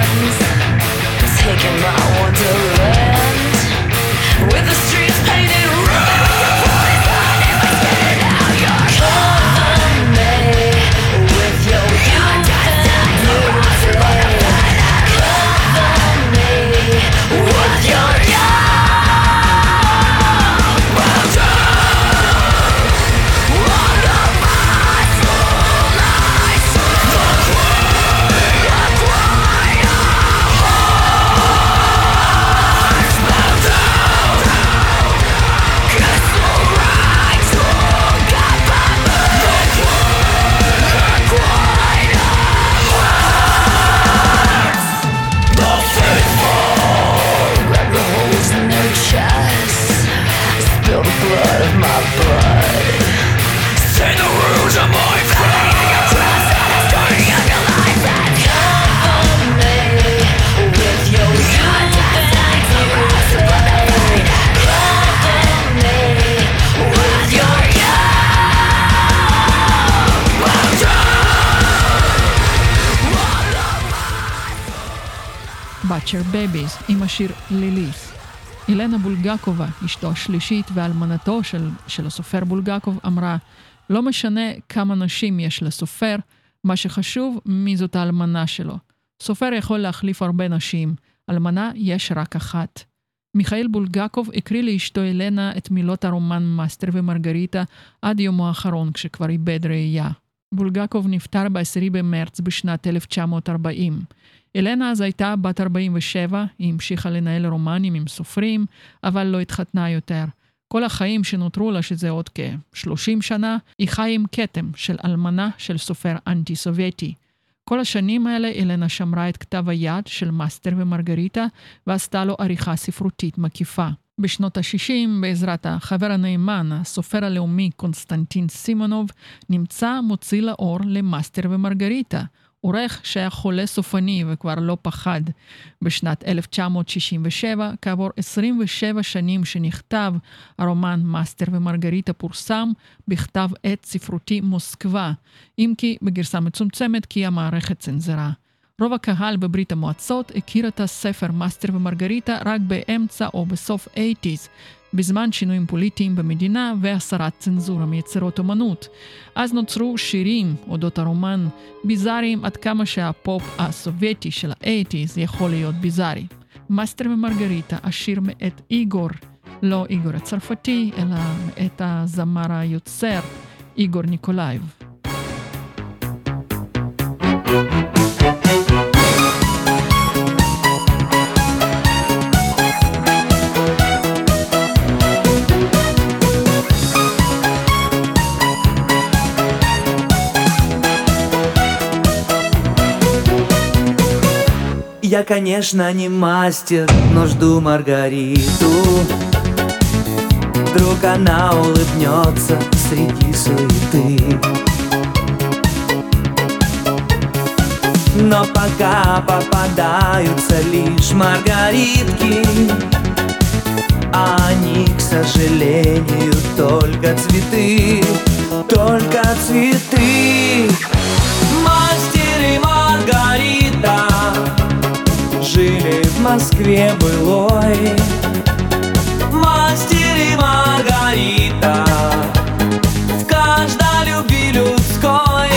Butcher Babies עם השיר ליליס. אילנה בולגקובה, אשתו השלישית ואלמנתו של, של הסופר בולגקוב, אמרה, לא משנה כמה נשים יש לסופר, מה שחשוב מי זאת האלמנה שלו. סופר יכול להחליף הרבה נשים, אלמנה יש רק אחת. מיכאל בולגקוב הקריא לאשתו אילנה את מילות הרומן מאסטר ומרגריטה עד יומו האחרון כשכבר איבד ראייה. בולגקוב נפטר ב-עשירי במרץ בשנת אלף תשע מאות ארבעים. אילנה אז הייתה בת ארבעים ושבע, היא המשיכה לנהל רומנים עם סופרים, אבל לא התחתנה יותר. כל החיים שנותרו לה, שזה עוד כ-שלושים שנה, היא חיה עם כתם של אלמנה של סופר אנטי-סובייטי. כל השנים האלה אילנה שמרה את כתב היד של מאסטר ומרגריטה, ועשתה לו עריכה ספרותית מקיפה. בשנות ה-שישים, בעזרת החבר הנאמן, הסופר הלאומי קונסטנטין סימונוב, נמצא מוציא לאור למאסטר ומרגריטה, עורך שהיה חולה סופני וכבר לא פחד. בשנת אלף תשע מאות שישים ושבע, כעבור עשרים ושבע שנים שנכתב, הרומן מאסטר ומרגריטה פורסם בכתב עת ספרותי מוסקבה, אם כי בגרסה מצומצמת כי המערכת צנזרה. רוב הקהל בברית המועצות הכיר את הספר מאסטר ומרגריטה רק באמצע או בסוף ה-שמונים, בזמן שינויים פוליטיים במדינה והסרת צנזורה מיצירות אומנות. אז נוצרו שירים אודות הרומן ביזאריים עד כמה שהפופ הסובייטי של ה-שמונים יכול להיות ביזארי. מאסטר ומרגריטה, השיר מאת איגור, לא איגור הצרפתי, אלא מאת הזמר היוצר איגור ניקולייב. Я, конечно, не мастер, но жду Маргариту. Вдруг она улыбнется среди суеты. Но пока попадаются лишь маргаритки, а они, к сожалению, только цветы, только цветы. Мастер и Маргарита жили в Москве былой. Мастер и Маргарита в каждой любви людской.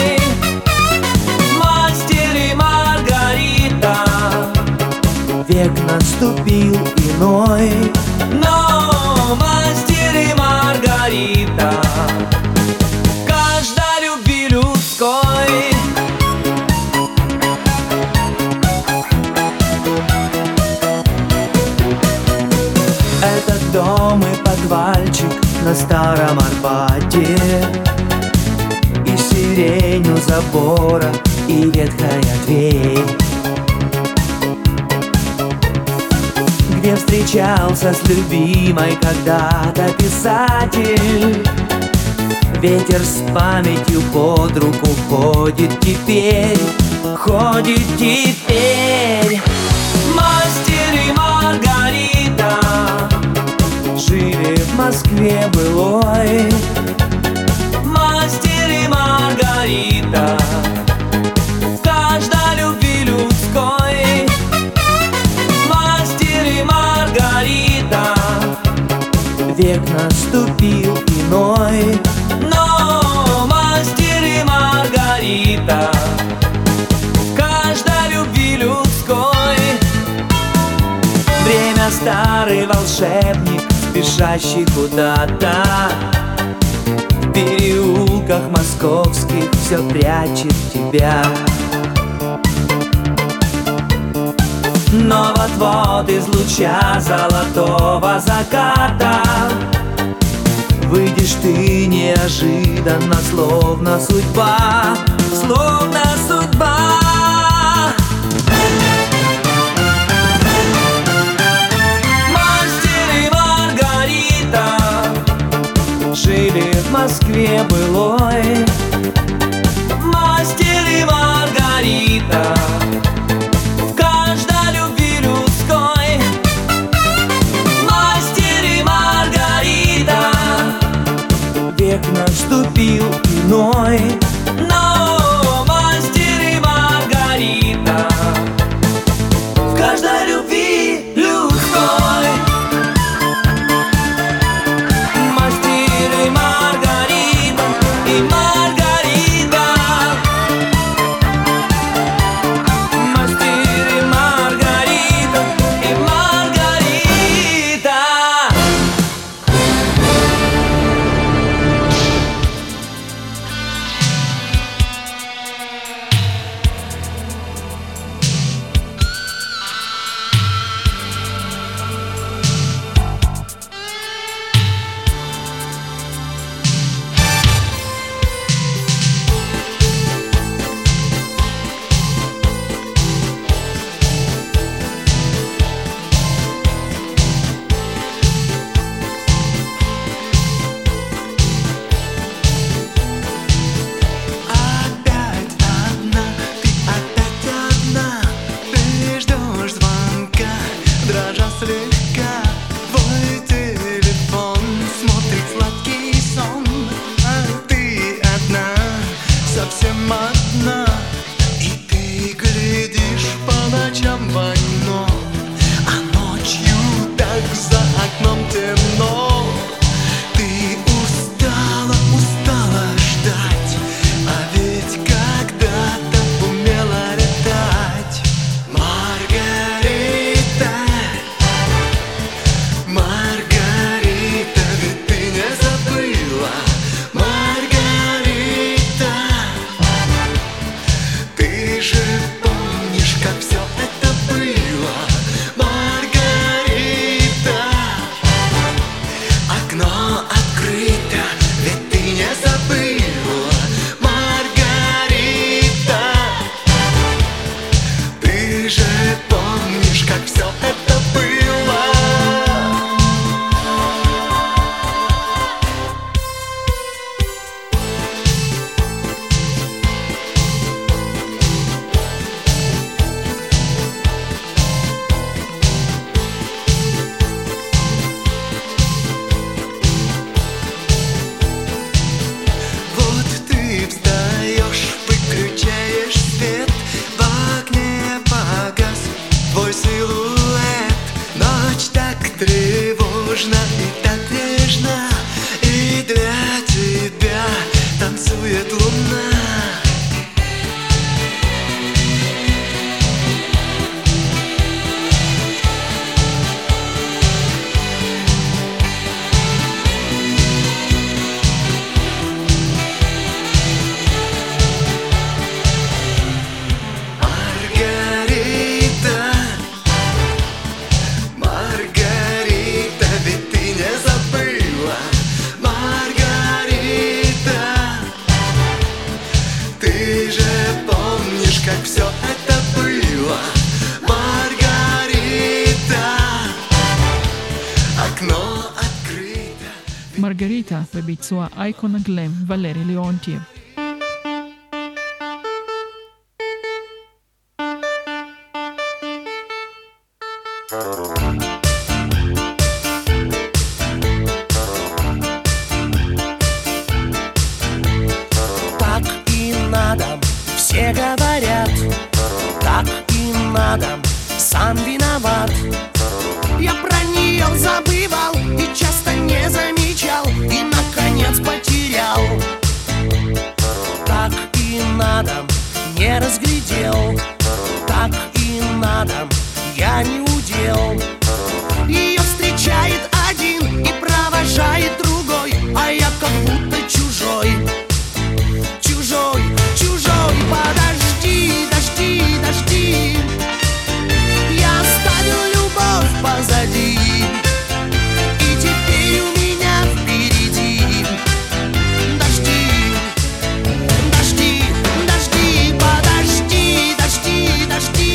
Мастер и Маргарита, век наступил иной. Но мастер и Маргарита в каждой любви людской. Дом и подвальчик на старом Арбате, и сирень у забора, и ветхая дверь, где встречался с любимой когда-то писатель. Ветер с памятью под руку ходит теперь, ходит теперь. Мастер и Маргарита жили в Москве былой. Мастер и Маргарита в каждой любви людской. Мастер и Маргарита, век наступил иной. Но мастер и Маргарита в каждой любви людской. Время старый волшебник, спешащий куда-то, в переулках московских все прячет тебя. Но вот-вот из луча золотого заката выйдешь ты неожиданно, словно судьба, словно судьба. Жили в Москве былой. Мастер и Маргарита в каждой любви людской. Мастер и Маргарита, век наступил иной. Но мастер и Маргарита в каждой любви помнишь, как все это было, Маргарита? окно открыто. מרגריטה בביצוע אייקון הגלם ולרי ליאונטייב. Так и надо, все говорят, так и надо, сам виноват. Я про нее забывал и часто не замечал, и наконец потерял. Так и надо, не разглядел, так и надо, я не удел. Ее встречает один и провожает другой, а я как будто чужой. Чужой, чужой, подожди, дожди, дожди. Я оставил любовь позади, и теперь у меня впереди дожди, дожди, дожди, подожди, дожди, дожди.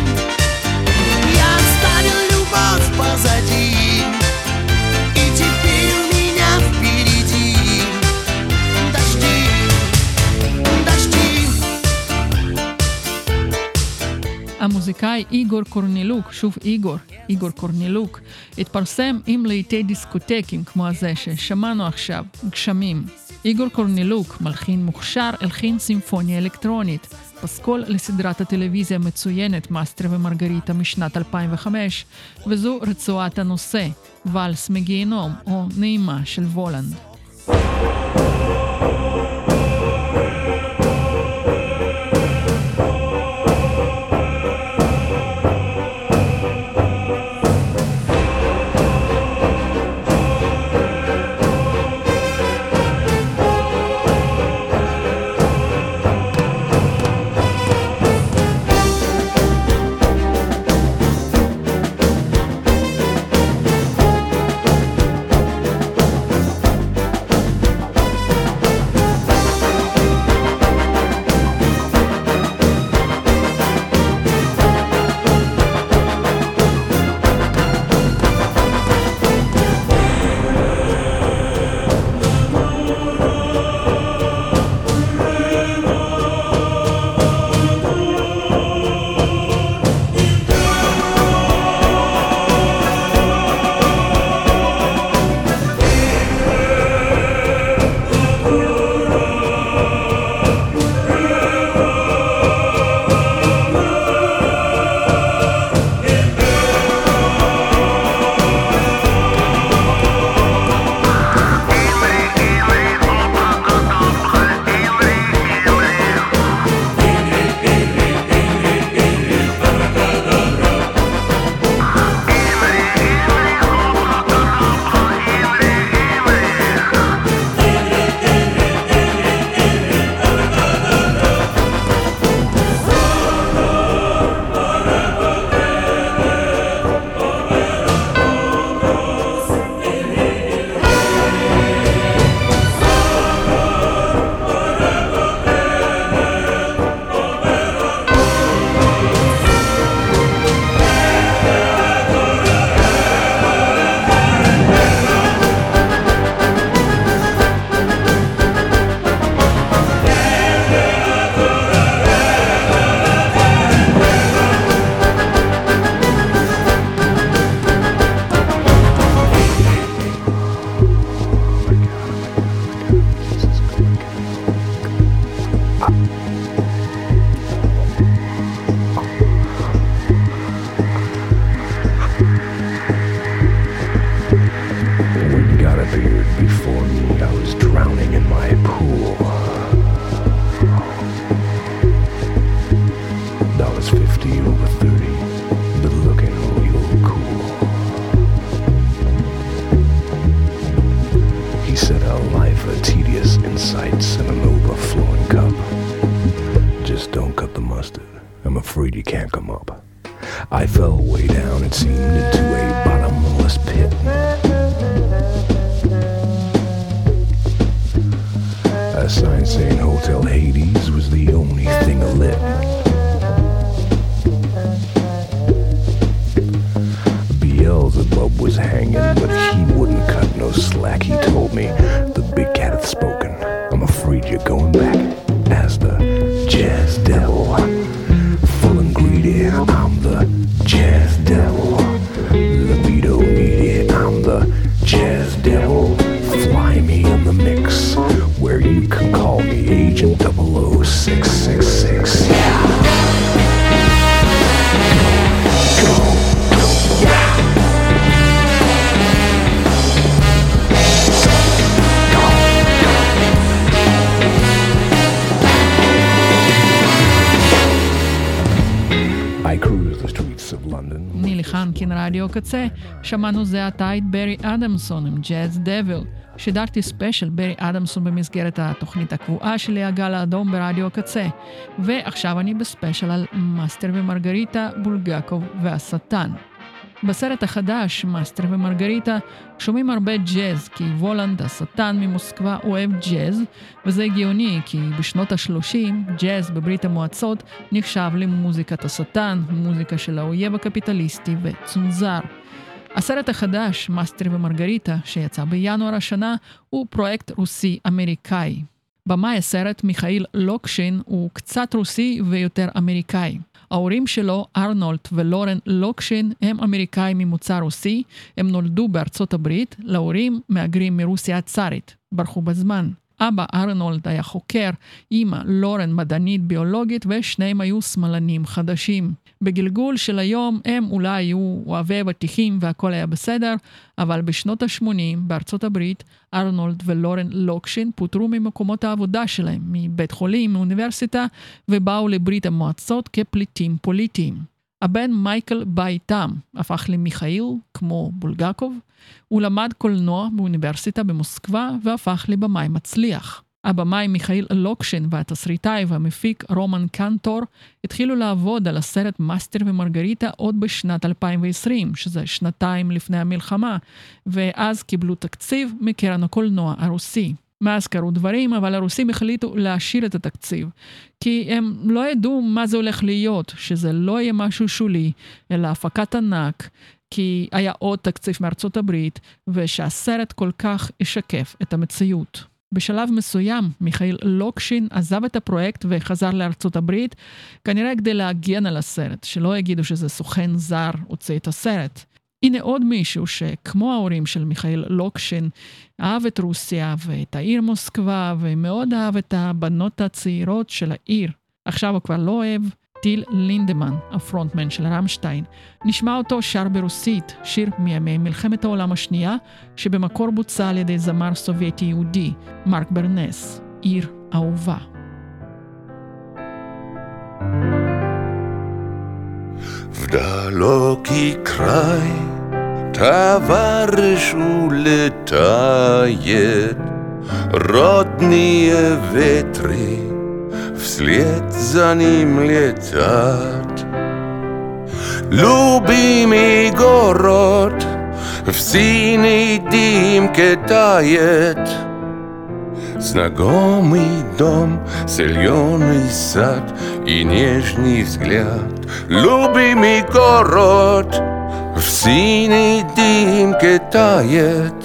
Я оставил любовь позади, и теперь у меня впереди дожди, дожди. המוזיקאי איגור קורנילוק, שוב איגור, איגור קורנילוק, התפרסם עם לעיתי דיסקוטקים כמו הזה ששמענו עכשיו, גשמים. איגור קורנילוק, מלחין מוכשר, הלחין סימפוניה אלקטרונית, פסקול לסדרת הטלוויזיה המצוינת מאסטר ומרגריטה משנת אלפיים וחמש, וזו רצועת הנושא, ואלס מגיהנום או נעימה של וולנד. glass sign saying Hotel Hades was the only thing lit. Beelzebub was hanging, but he wouldn't cut no slack. He told me, the big cat hath spoken. I'm afraid you're going back as the jazz devil. Full and greedy, I'm the jazz devil. Libido needy, I'm the jazz devil. Fly me in the mix, where you can call me Agent double oh six six six. Yeah! Go, go, yeah! I cruise the streets of London. נילי חנקין, רדיו קצה. שמענו זה עתה את ברי אדמסון עם ג'אז דביל. שידרתי ספיישל ברי אדמסון במסגרת התוכנית הקבועה שלי, הגל האדום ברדיו הקצה. ועכשיו אני בספיישל על מאסטר ומרגריטה, בולגקוב והשטן. בסרט החדש, מאסטר ומרגריטה, שומעים הרבה ג'אז, כי וולנד, השטן ממוסקבה, אוהב ג'אז, וזה הגיוני, כי בשנות ה-שלושים, ג'אז בברית המועצות נחשב למוזיקת השטן, מוזיקה של האויב הקפיטליסטי וצונזר. הסרט החדש, מאסטר ומרגריטה, שיצא בינואר השנה, הוא פרויקט רוסי-אמריקאי. במאי הסרט, מיכאיל לוקשין, הוא קצת רוסי ויותר אמריקאי. ההורים שלו, ארנולד ולורן לוקשין, הם אמריקאים ממוצא רוסי, הם נולדו בארצות הברית, להורים מהגרים מרוסיה הצארית, ברחו בזמן. אבא ארנולד היה חוקר, אמא לורן מדענית ביולוגית, ושניהם היו שמאלנים חדשים. בגלגול של היום הם אולי היו אוהבי ותיקים והכל היה בסדר, אבל בשנות ה-שמונים בארצות הברית, ארנולד ולורן לוקשין פוטרו ממקומות העבודה שלהם, מבית חולים, מאוניברסיטה, ובאו לברית המועצות כפליטים פוליטיים. הבן מייקל בא איתם, הפך למיכאיל, כמו בולגקוב. הוא למד קולנוע באוניברסיטה במוסקבה, והפך לבמאי מצליח. הבמאי מיכאיל לוקשין והתסריטאי והמפיק רומן קנטור התחילו לעבוד על הסרט מאסטר ומרגריטה עוד בשנת אלפיים ועשרים, שזה שנתיים לפני המלחמה, ואז קיבלו תקציב מקרן הקולנוע הרוסי. מאז קרו דברים, אבל הרוסים החליטו להשאיר את התקציב, כי הם לא ידעו מה זה הולך להיות, שזה לא יהיה משהו שולי, אלא הפקת ענק, כי היה עוד תקציב מארצות הברית, ושהסרט כל כך ישקף את המציאות. בשלב מסוים, מיכאיל לוקשין עזב את הפרויקט וחזר לארצות הברית, כנראה כדי להגן על הסרט, שלא יגידו שזה סוכן זר הוצא את הסרט. הנה עוד מישהו שכמו ההורים של מיכאיל לוקשין, אהב את רוסיה ואת העיר מוסקבה, ומאוד אהב את הבנות הצעירות של העיר. עכשיו הוא כבר לא אוהב, טיל לינדמן, הפרונטמן של רמשטיין. נשמע אותו שר ברוסית, שיר מימי מלחמת העולם השנייה, שבמקור בוצע על ידי זמר סובייטי יהודי, מרק ברנס, עיר אהובה. В далекий край товарищ улетает, родные ветры вслед за ним летят. Любимый город в синий дымке тает, знакомый дом, зеленый сад и нежный взгляд. Любимый город в синей дымке тает,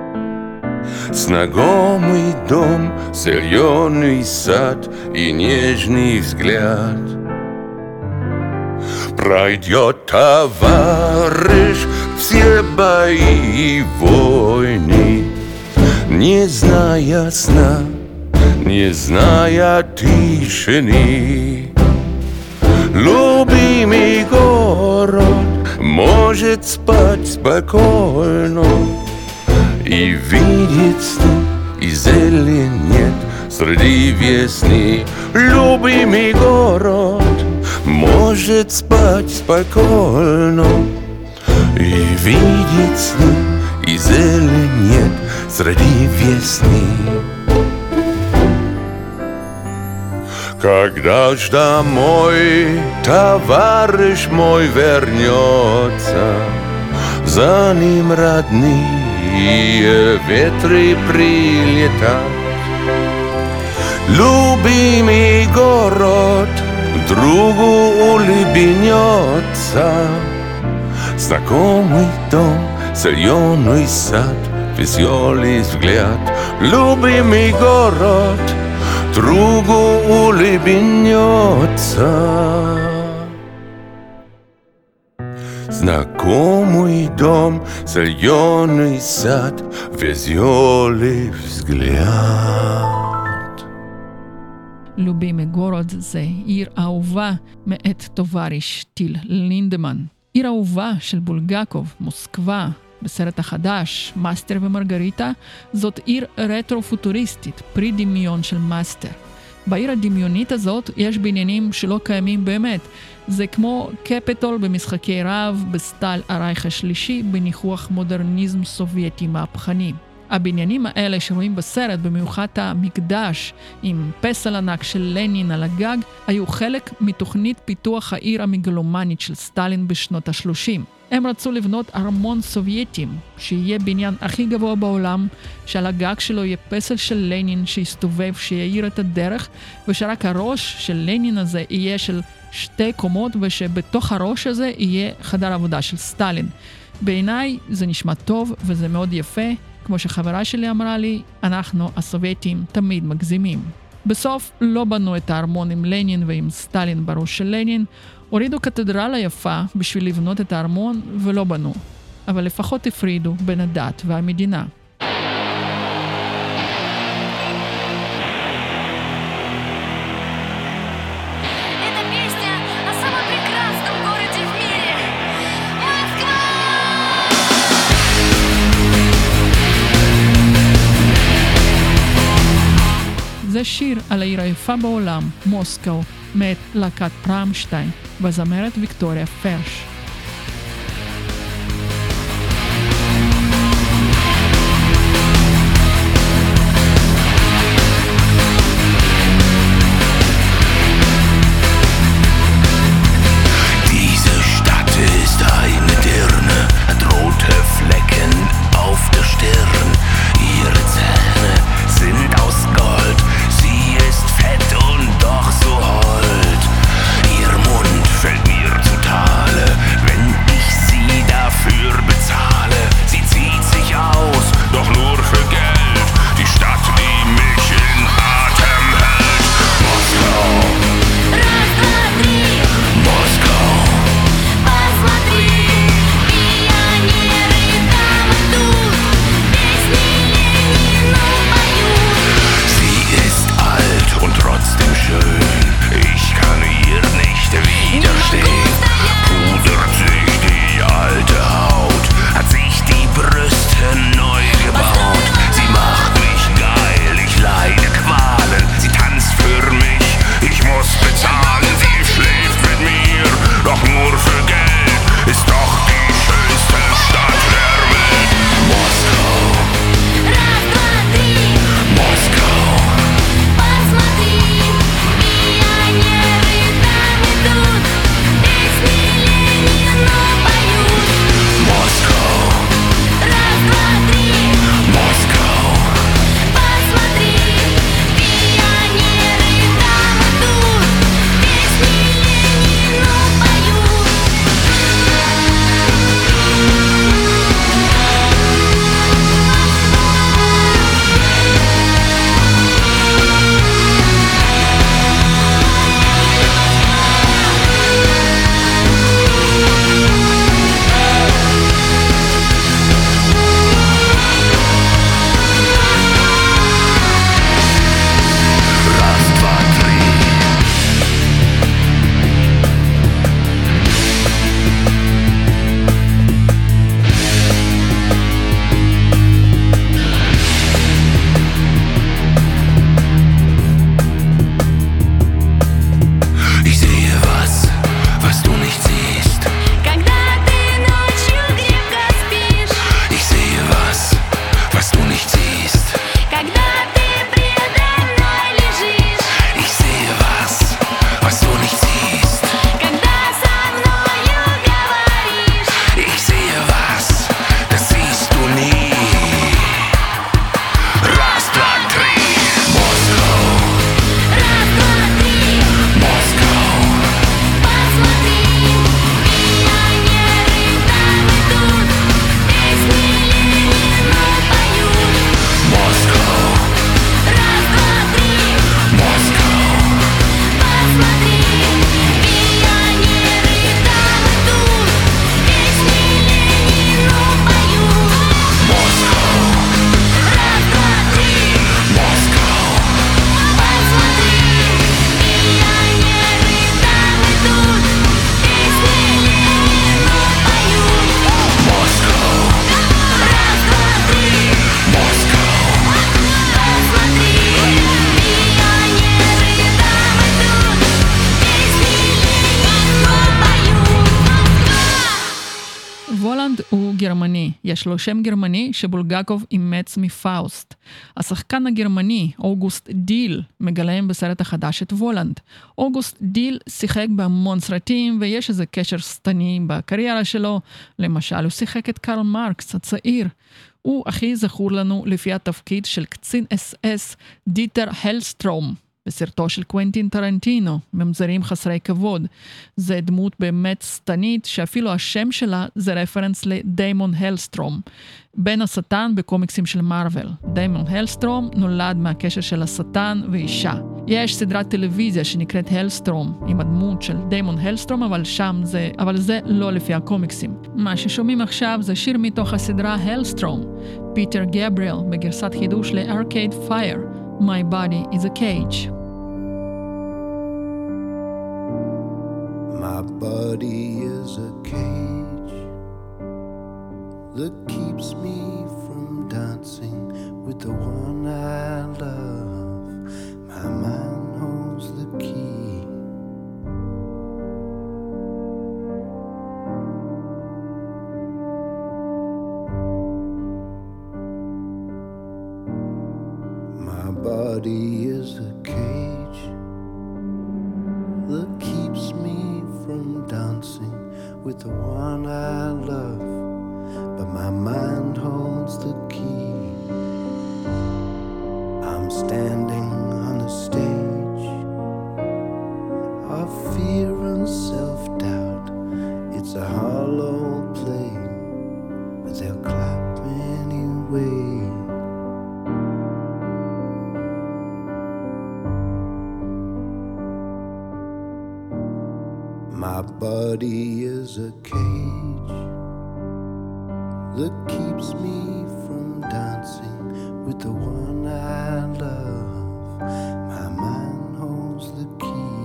знакомый дом, зеленый сад и нежный взгляд. Пройдет товарищ все бои и войны, не зная сна, не зная тишины. Любимый город может спать спокойно и видеть сны, и зелень нет среди весны. Любимый город может спать спокойно и видеть сны, и зелень нет среди весны. Когда ж домой товарищ мой вернется, за ним родные ветры прилетят. Любимый город, другу улыбнется. Знакомый дом, зеленый сад, веселый взгляд. Любимый город, другу улыбнется. Знакомый дом, зеленый сад, веселый взгляд. любимый город זה עיר אהובה מאת טובריש טיל לינדמן. עיר אהובה של בולגקוב, מוסקבה, בסרט החדש, מאסטר ומרגריטה, זאת עיר רטרו-פוטוריסטית, פרי דמיון של מאסטר. בעיר הדמיונית הזאת יש בניינים שלא קיימים באמת. זה כמו קפיטול במשחקי רב, בסטייל הרייך השלישי, בניחוח מודרניזם סובייטי מהפכני. הבניינים האלה שרואים בסרט, במיוחד המקדש עם פסל ענק של לנין על הגג, היו חלק מתוכנית פיתוח העיר המגלומנית של סטלין בשנות ה-שלושים. הם רצו לבנות ארמון סובייטים, שיהיה בניין הכי גבוה בעולם, שעל הגג שלו יהיה פסל של לנין שיסתובב, שיעיר את הדרך, ושרק הראש של לנין הזה יהיה של שתי קומות, ושבתוך הראש הזה יהיה חדר עבודה של סטלין. בעיניי זה נשמע טוב וזה מאוד יפה, כמו שחברה שלי אמרה לי, אנחנו הסובייטים תמיד מגזימים. בסוף לא בנו את הארמון עם לנין ועם סטלין בראש של לנין, הורידו קתדרלה יפה בשביל לבנות את הארמון ולא בנו. אבל לפחות הפרידו בין הדת והמדינה. זה שיר על העיר היפה בעולם, מוסקו, מאת להקת רמשטיין, בזמרת ויקטוריה פרש. Diese Stadt ist eine Dirne, hat rote Flecken auf der Stirn. Ihre Zähne sind aus Gold, sie ist fett und doch so hold. Ihr Mund fällt mir zu Tale, wenn ich sie dafür bezahle. Sie zieht sich aus, doch nur für Geld, die Stadt, die mich in Atem hält. Moskau, Moskau, посмотри, пионеры там идут, песни Ленину поют. Sie ist alt und trotzdem schön, ich kann ihr nicht widerstehen. Pudert sich die alte Haut, hat sich die Brüste neu gebaut. Sie macht mich geil, ich leide Qualen. Sie tanzt für mich, ich muss bezahlen. Sie schläft mit mir, doch nur für Geld. Ist doch die schönste Stadt der Welt. Moskau, Moskau, посмотри, пионеры там идут, песни Ленину поют. Москва, раз, два, три, Москва, посмотри, пионеры там идут, песни Ленину поют. Раз, два, три. Ich sehe was, was du nicht siehst. Когда ты ночью крепко спишь. Ich sehe was, was du nicht siehst. Когда ты предо мной лежишь. Ich sehe was, was du nicht siehst. Когда со мною говоришь. Ich sehe was, das siehst du nie. Раз, два, три. Москва, הוא גרמני, יש לו שם גרמני שבולגקוב אימץ מפאוסט. השחקן הגרמני, אוגוסט דיל, מגלם בסרט החדש את וולנד. אוגוסט דיל שיחק בהמון סרטים ויש איזה קשר סתני בקריירה שלו, למשל הוא שיחק את קרל מרקס הצעיר. הוא הכי זכור לנו לפי התפקיד של קצין אס אס דיטר הלסטרום, בסרטו של קוונטין טרנטינו, ממזרים חסרי כבוד. זה דמות באמת סתנית, שאפילו השם שלה זה רפרנס לדיימון הלסטרום, בן השטן בקומיקסים של מארוול. דיימון הלסטרום נולד מהקשר של השטן ואישה. יש סדרת טלוויזיה שנקראת הלסטרום, עם הדמות של דיימון הלסטרום, אבל שם זה, אבל זה לא לפי הקומיקסים. מה ששומעים עכשיו זה שיר מתוך הסדרה הלסטרום, פיטר גבריאל בגרסת חידוש לארקייד פייר, My body is a cage. My body is a cage that keeps me from dancing with the one I love. My mind holds the key. My body is a cage that keeps me from dancing with the one I love, but my mind holds the key. I'm standing on the stage of fear and self-doubt. It's a hollow play, but they'll clap anyway. My body is a cage that keeps me from dancing with the one I love. My mind holds the key.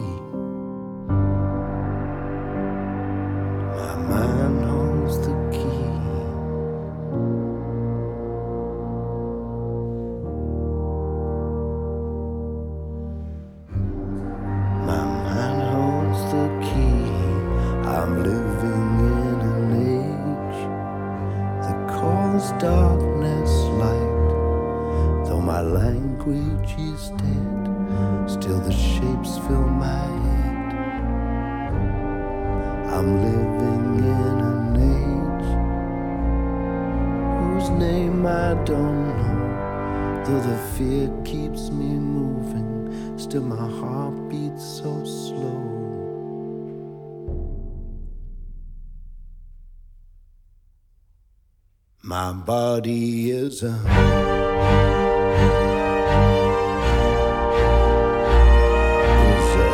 My mind holds the key. My mind holds the key. I'm living in an age that calls darkness light. Though my language is dead, still the shapes fill my head. I'm living in an age whose name I don't know. Though the fear keeps me moving, still my heart beats so slow. My body is a is a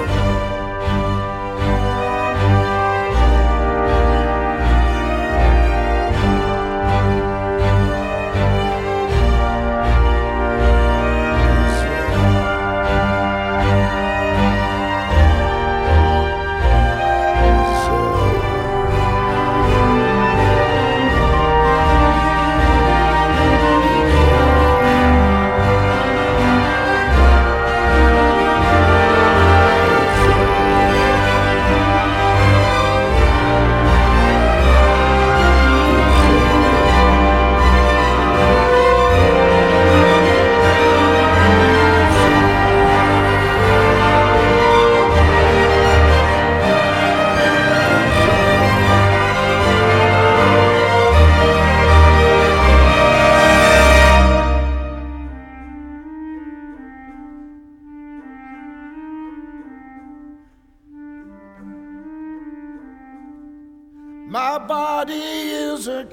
my body is a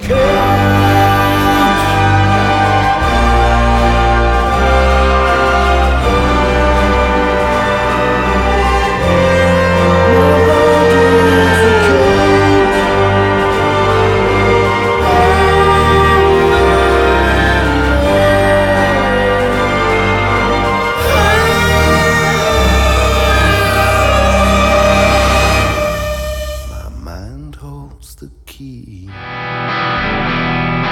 key.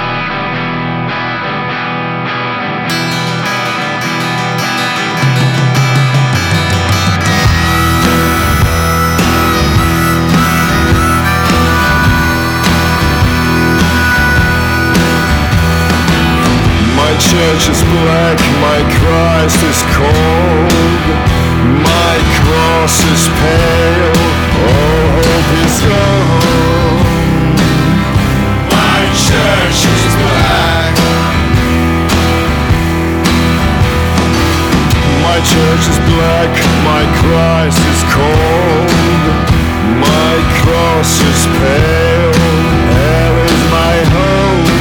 church is black, my Christ is cold. My cross is pale, all hope is gone. My church is black. My church is black, my Christ is cold. My cross is pale, hell is my home.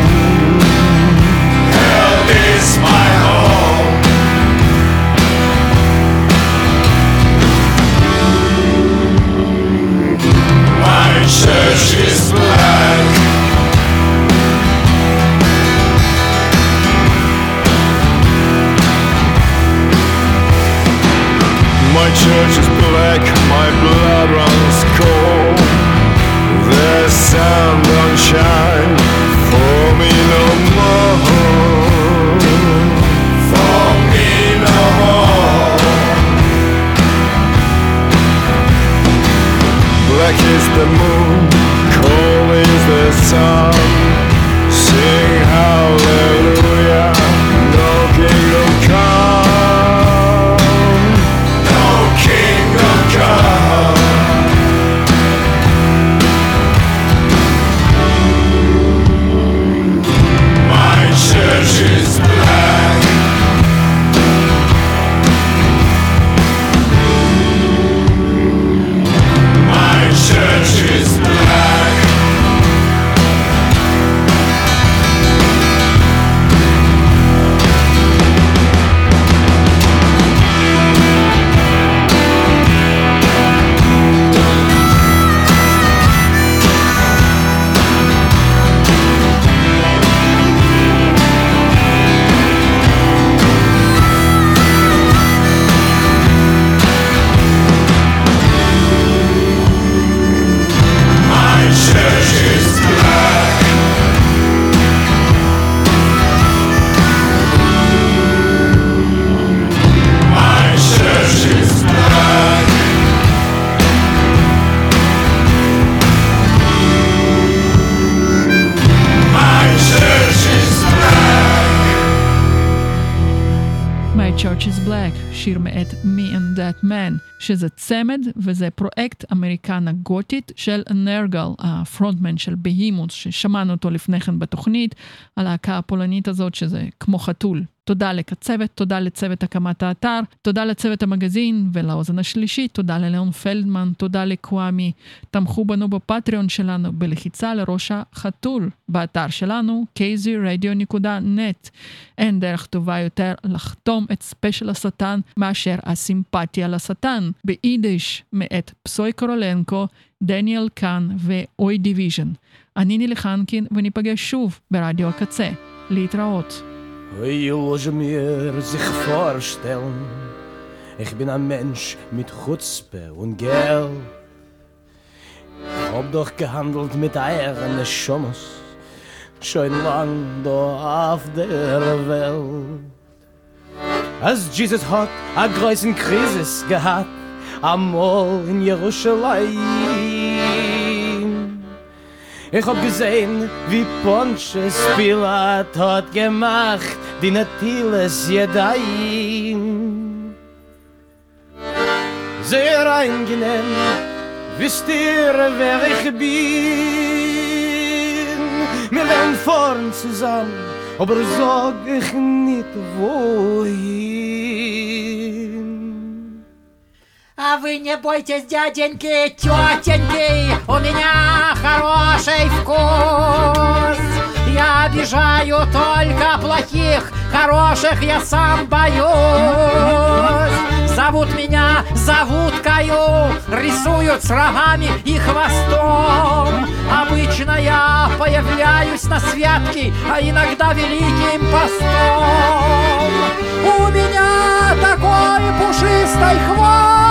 Hell is my home. My church is black. My church is black, my blood runs cold. The sun don't shine for me no more. For me no more. Black is the moon, cold is the sun. Sing hallelujah, no kingdom come. No kingdom come. My church is black. My church is black. Church is Black, שיר מאת Me and That Man, שזה צמד וזה פרויקט אמריקנה גותית של נרגל, הפרונטמן של בהימוס, ששמענו אותו לפני כן בתוכנית, הלהקה הפולנית הזאת שזה כמו חתול. תודה לקצוות, תודה לצוות הקמת האתר, תודה לצוות המגזין ולאוזן השלישית, תודה לליאון פלדמן, תודה לקוואמי. תמכו בנו בפטריון שלנו בלחיצה לראש החתול, באתר שלנו קיי זי רדיו נקודה נט. אין דרך טובה יותר לחתום את ספיישל השטן מאשר הסימפתיה לשטן, ביידיש מאת פסוי קורולנקו, דניאל קאן ואוי דיוויז'ן. אני נילי חנקין וניפגש שוב ברדיו הקצה. להתראות. Hey, loge mir sich vorstellen, ich bin ein Mensch mit Chutzpe und Geld. Hab doch gehandelt mit eigenen Schommes, schon lang da auf der Welt. Als Jesus hat a größen Krisis gehabt, amol in Jerusalem. Ich hab gesehen, wie Pontius Pilat hat gemacht, die Natiles Jedayim. Sehr angenehm, wisst ihr, wer ich bin? Wir werden vorn zusammen, aber sag ich nicht wohin. А вы не бойтесь, дяденьки, тетеньки, у меня хороший вкус. Я обижаю только плохих, хороших я сам боюсь. Зовут меня зовуткою, рисуют с рогами и хвостом. Обычно я появляюсь на святке, а иногда великим постом. У меня такой пушистый хвост,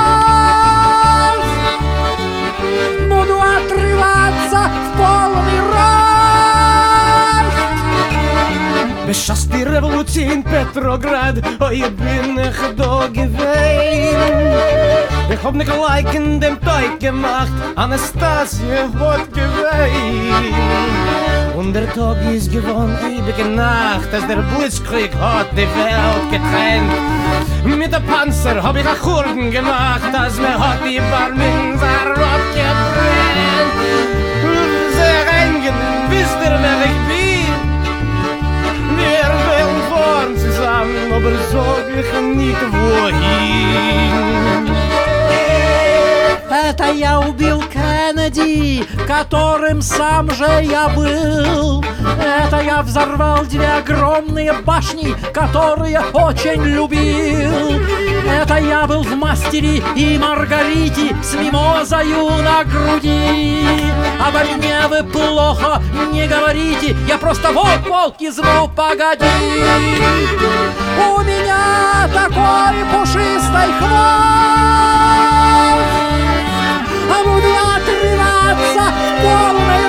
буду отрываться в полный рост. Beschaß die Revolution in Petrograd, oh, ich bin nicht da gewesen. Ich hab nicht gleich in dem Teig gemacht, Anastasia hat gewesen. Und der Tag ist gewohnt, ewige Nacht, als der Blitzkrieg hat die Welt getrennt. Mit der Panzer hab ich a Kurden gemacht, als mir hat die Barminser abgebrennt. Sehr angenehm, wisst ihr, wer ich bin? Wir werden fahren zusammen, aber sag ich nicht wohin. Это я убил Кеннеди, которым сам же я был. Это я взорвал две огромные башни, которые очень любил. Это я был в «Мастере и Маргарите» с мимозою на груди. Обо мне вы плохо не говорите, я просто волк, волк из «Ну, погоди». У меня такой пушистый хвост, а буду отрываться в полный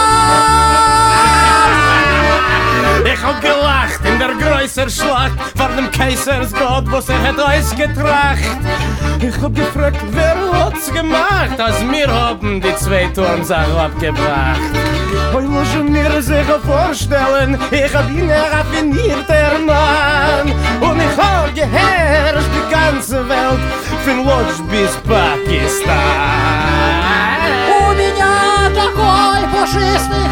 рост. Ich hab gelacht in der größer Schlacht vor dem Kaisersgott, was er hat uns getracht. Ich hab gefragt, wer hat's gemacht, als wir haben die zwei Turmsachen abgebracht. Und muss mir sich vorstellen, ich hab ihn raffiniert, der Mann. Und ich hab geherrscht die ganze Welt, von Lodz bis Pakistan. У меня такой пушистый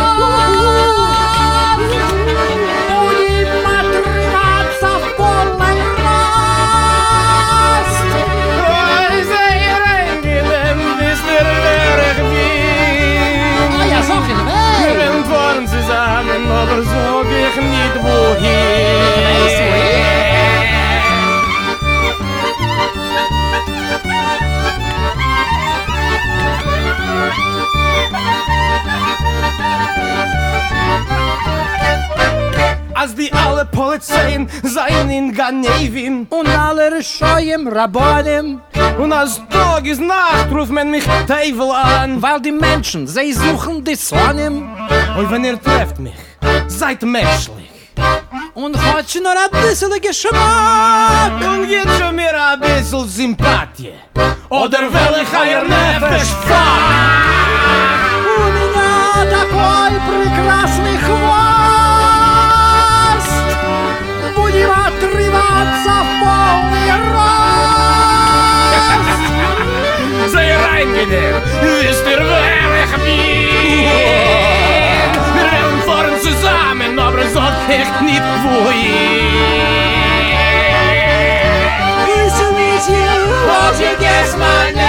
хвост, будем отрываться в полный рост. Ой, sehr angenehm, wisst ihr, wer ich bin? Ah ja, sag ihn, hey! Wir werden fahren zusammen, aber sag ich nicht wohin. Weißt wohin? Als die alle Polizeien seien in Ganevin und alle Rischoyim Rabbonim. Und als Tag ist Nacht, ruft man mich Teufel an. Weil die Menschen, sie suchen die Sonim. Und wenn ihr trefft mich, seid menschlich. Und hat schon nur ein bisschen Geschmack. Und gibt schon mir ein bisschen Sympathie. Oder will ich euer Nefesh fuck? У меня такой прекрасный хвост, будем отрываться в полный рост. Sehr angenehm, wisst ihr, wer ich bin? Wir werden fahren zusammen, aber sag ich nicht wohin. Nice to meet you, won't you guess my name?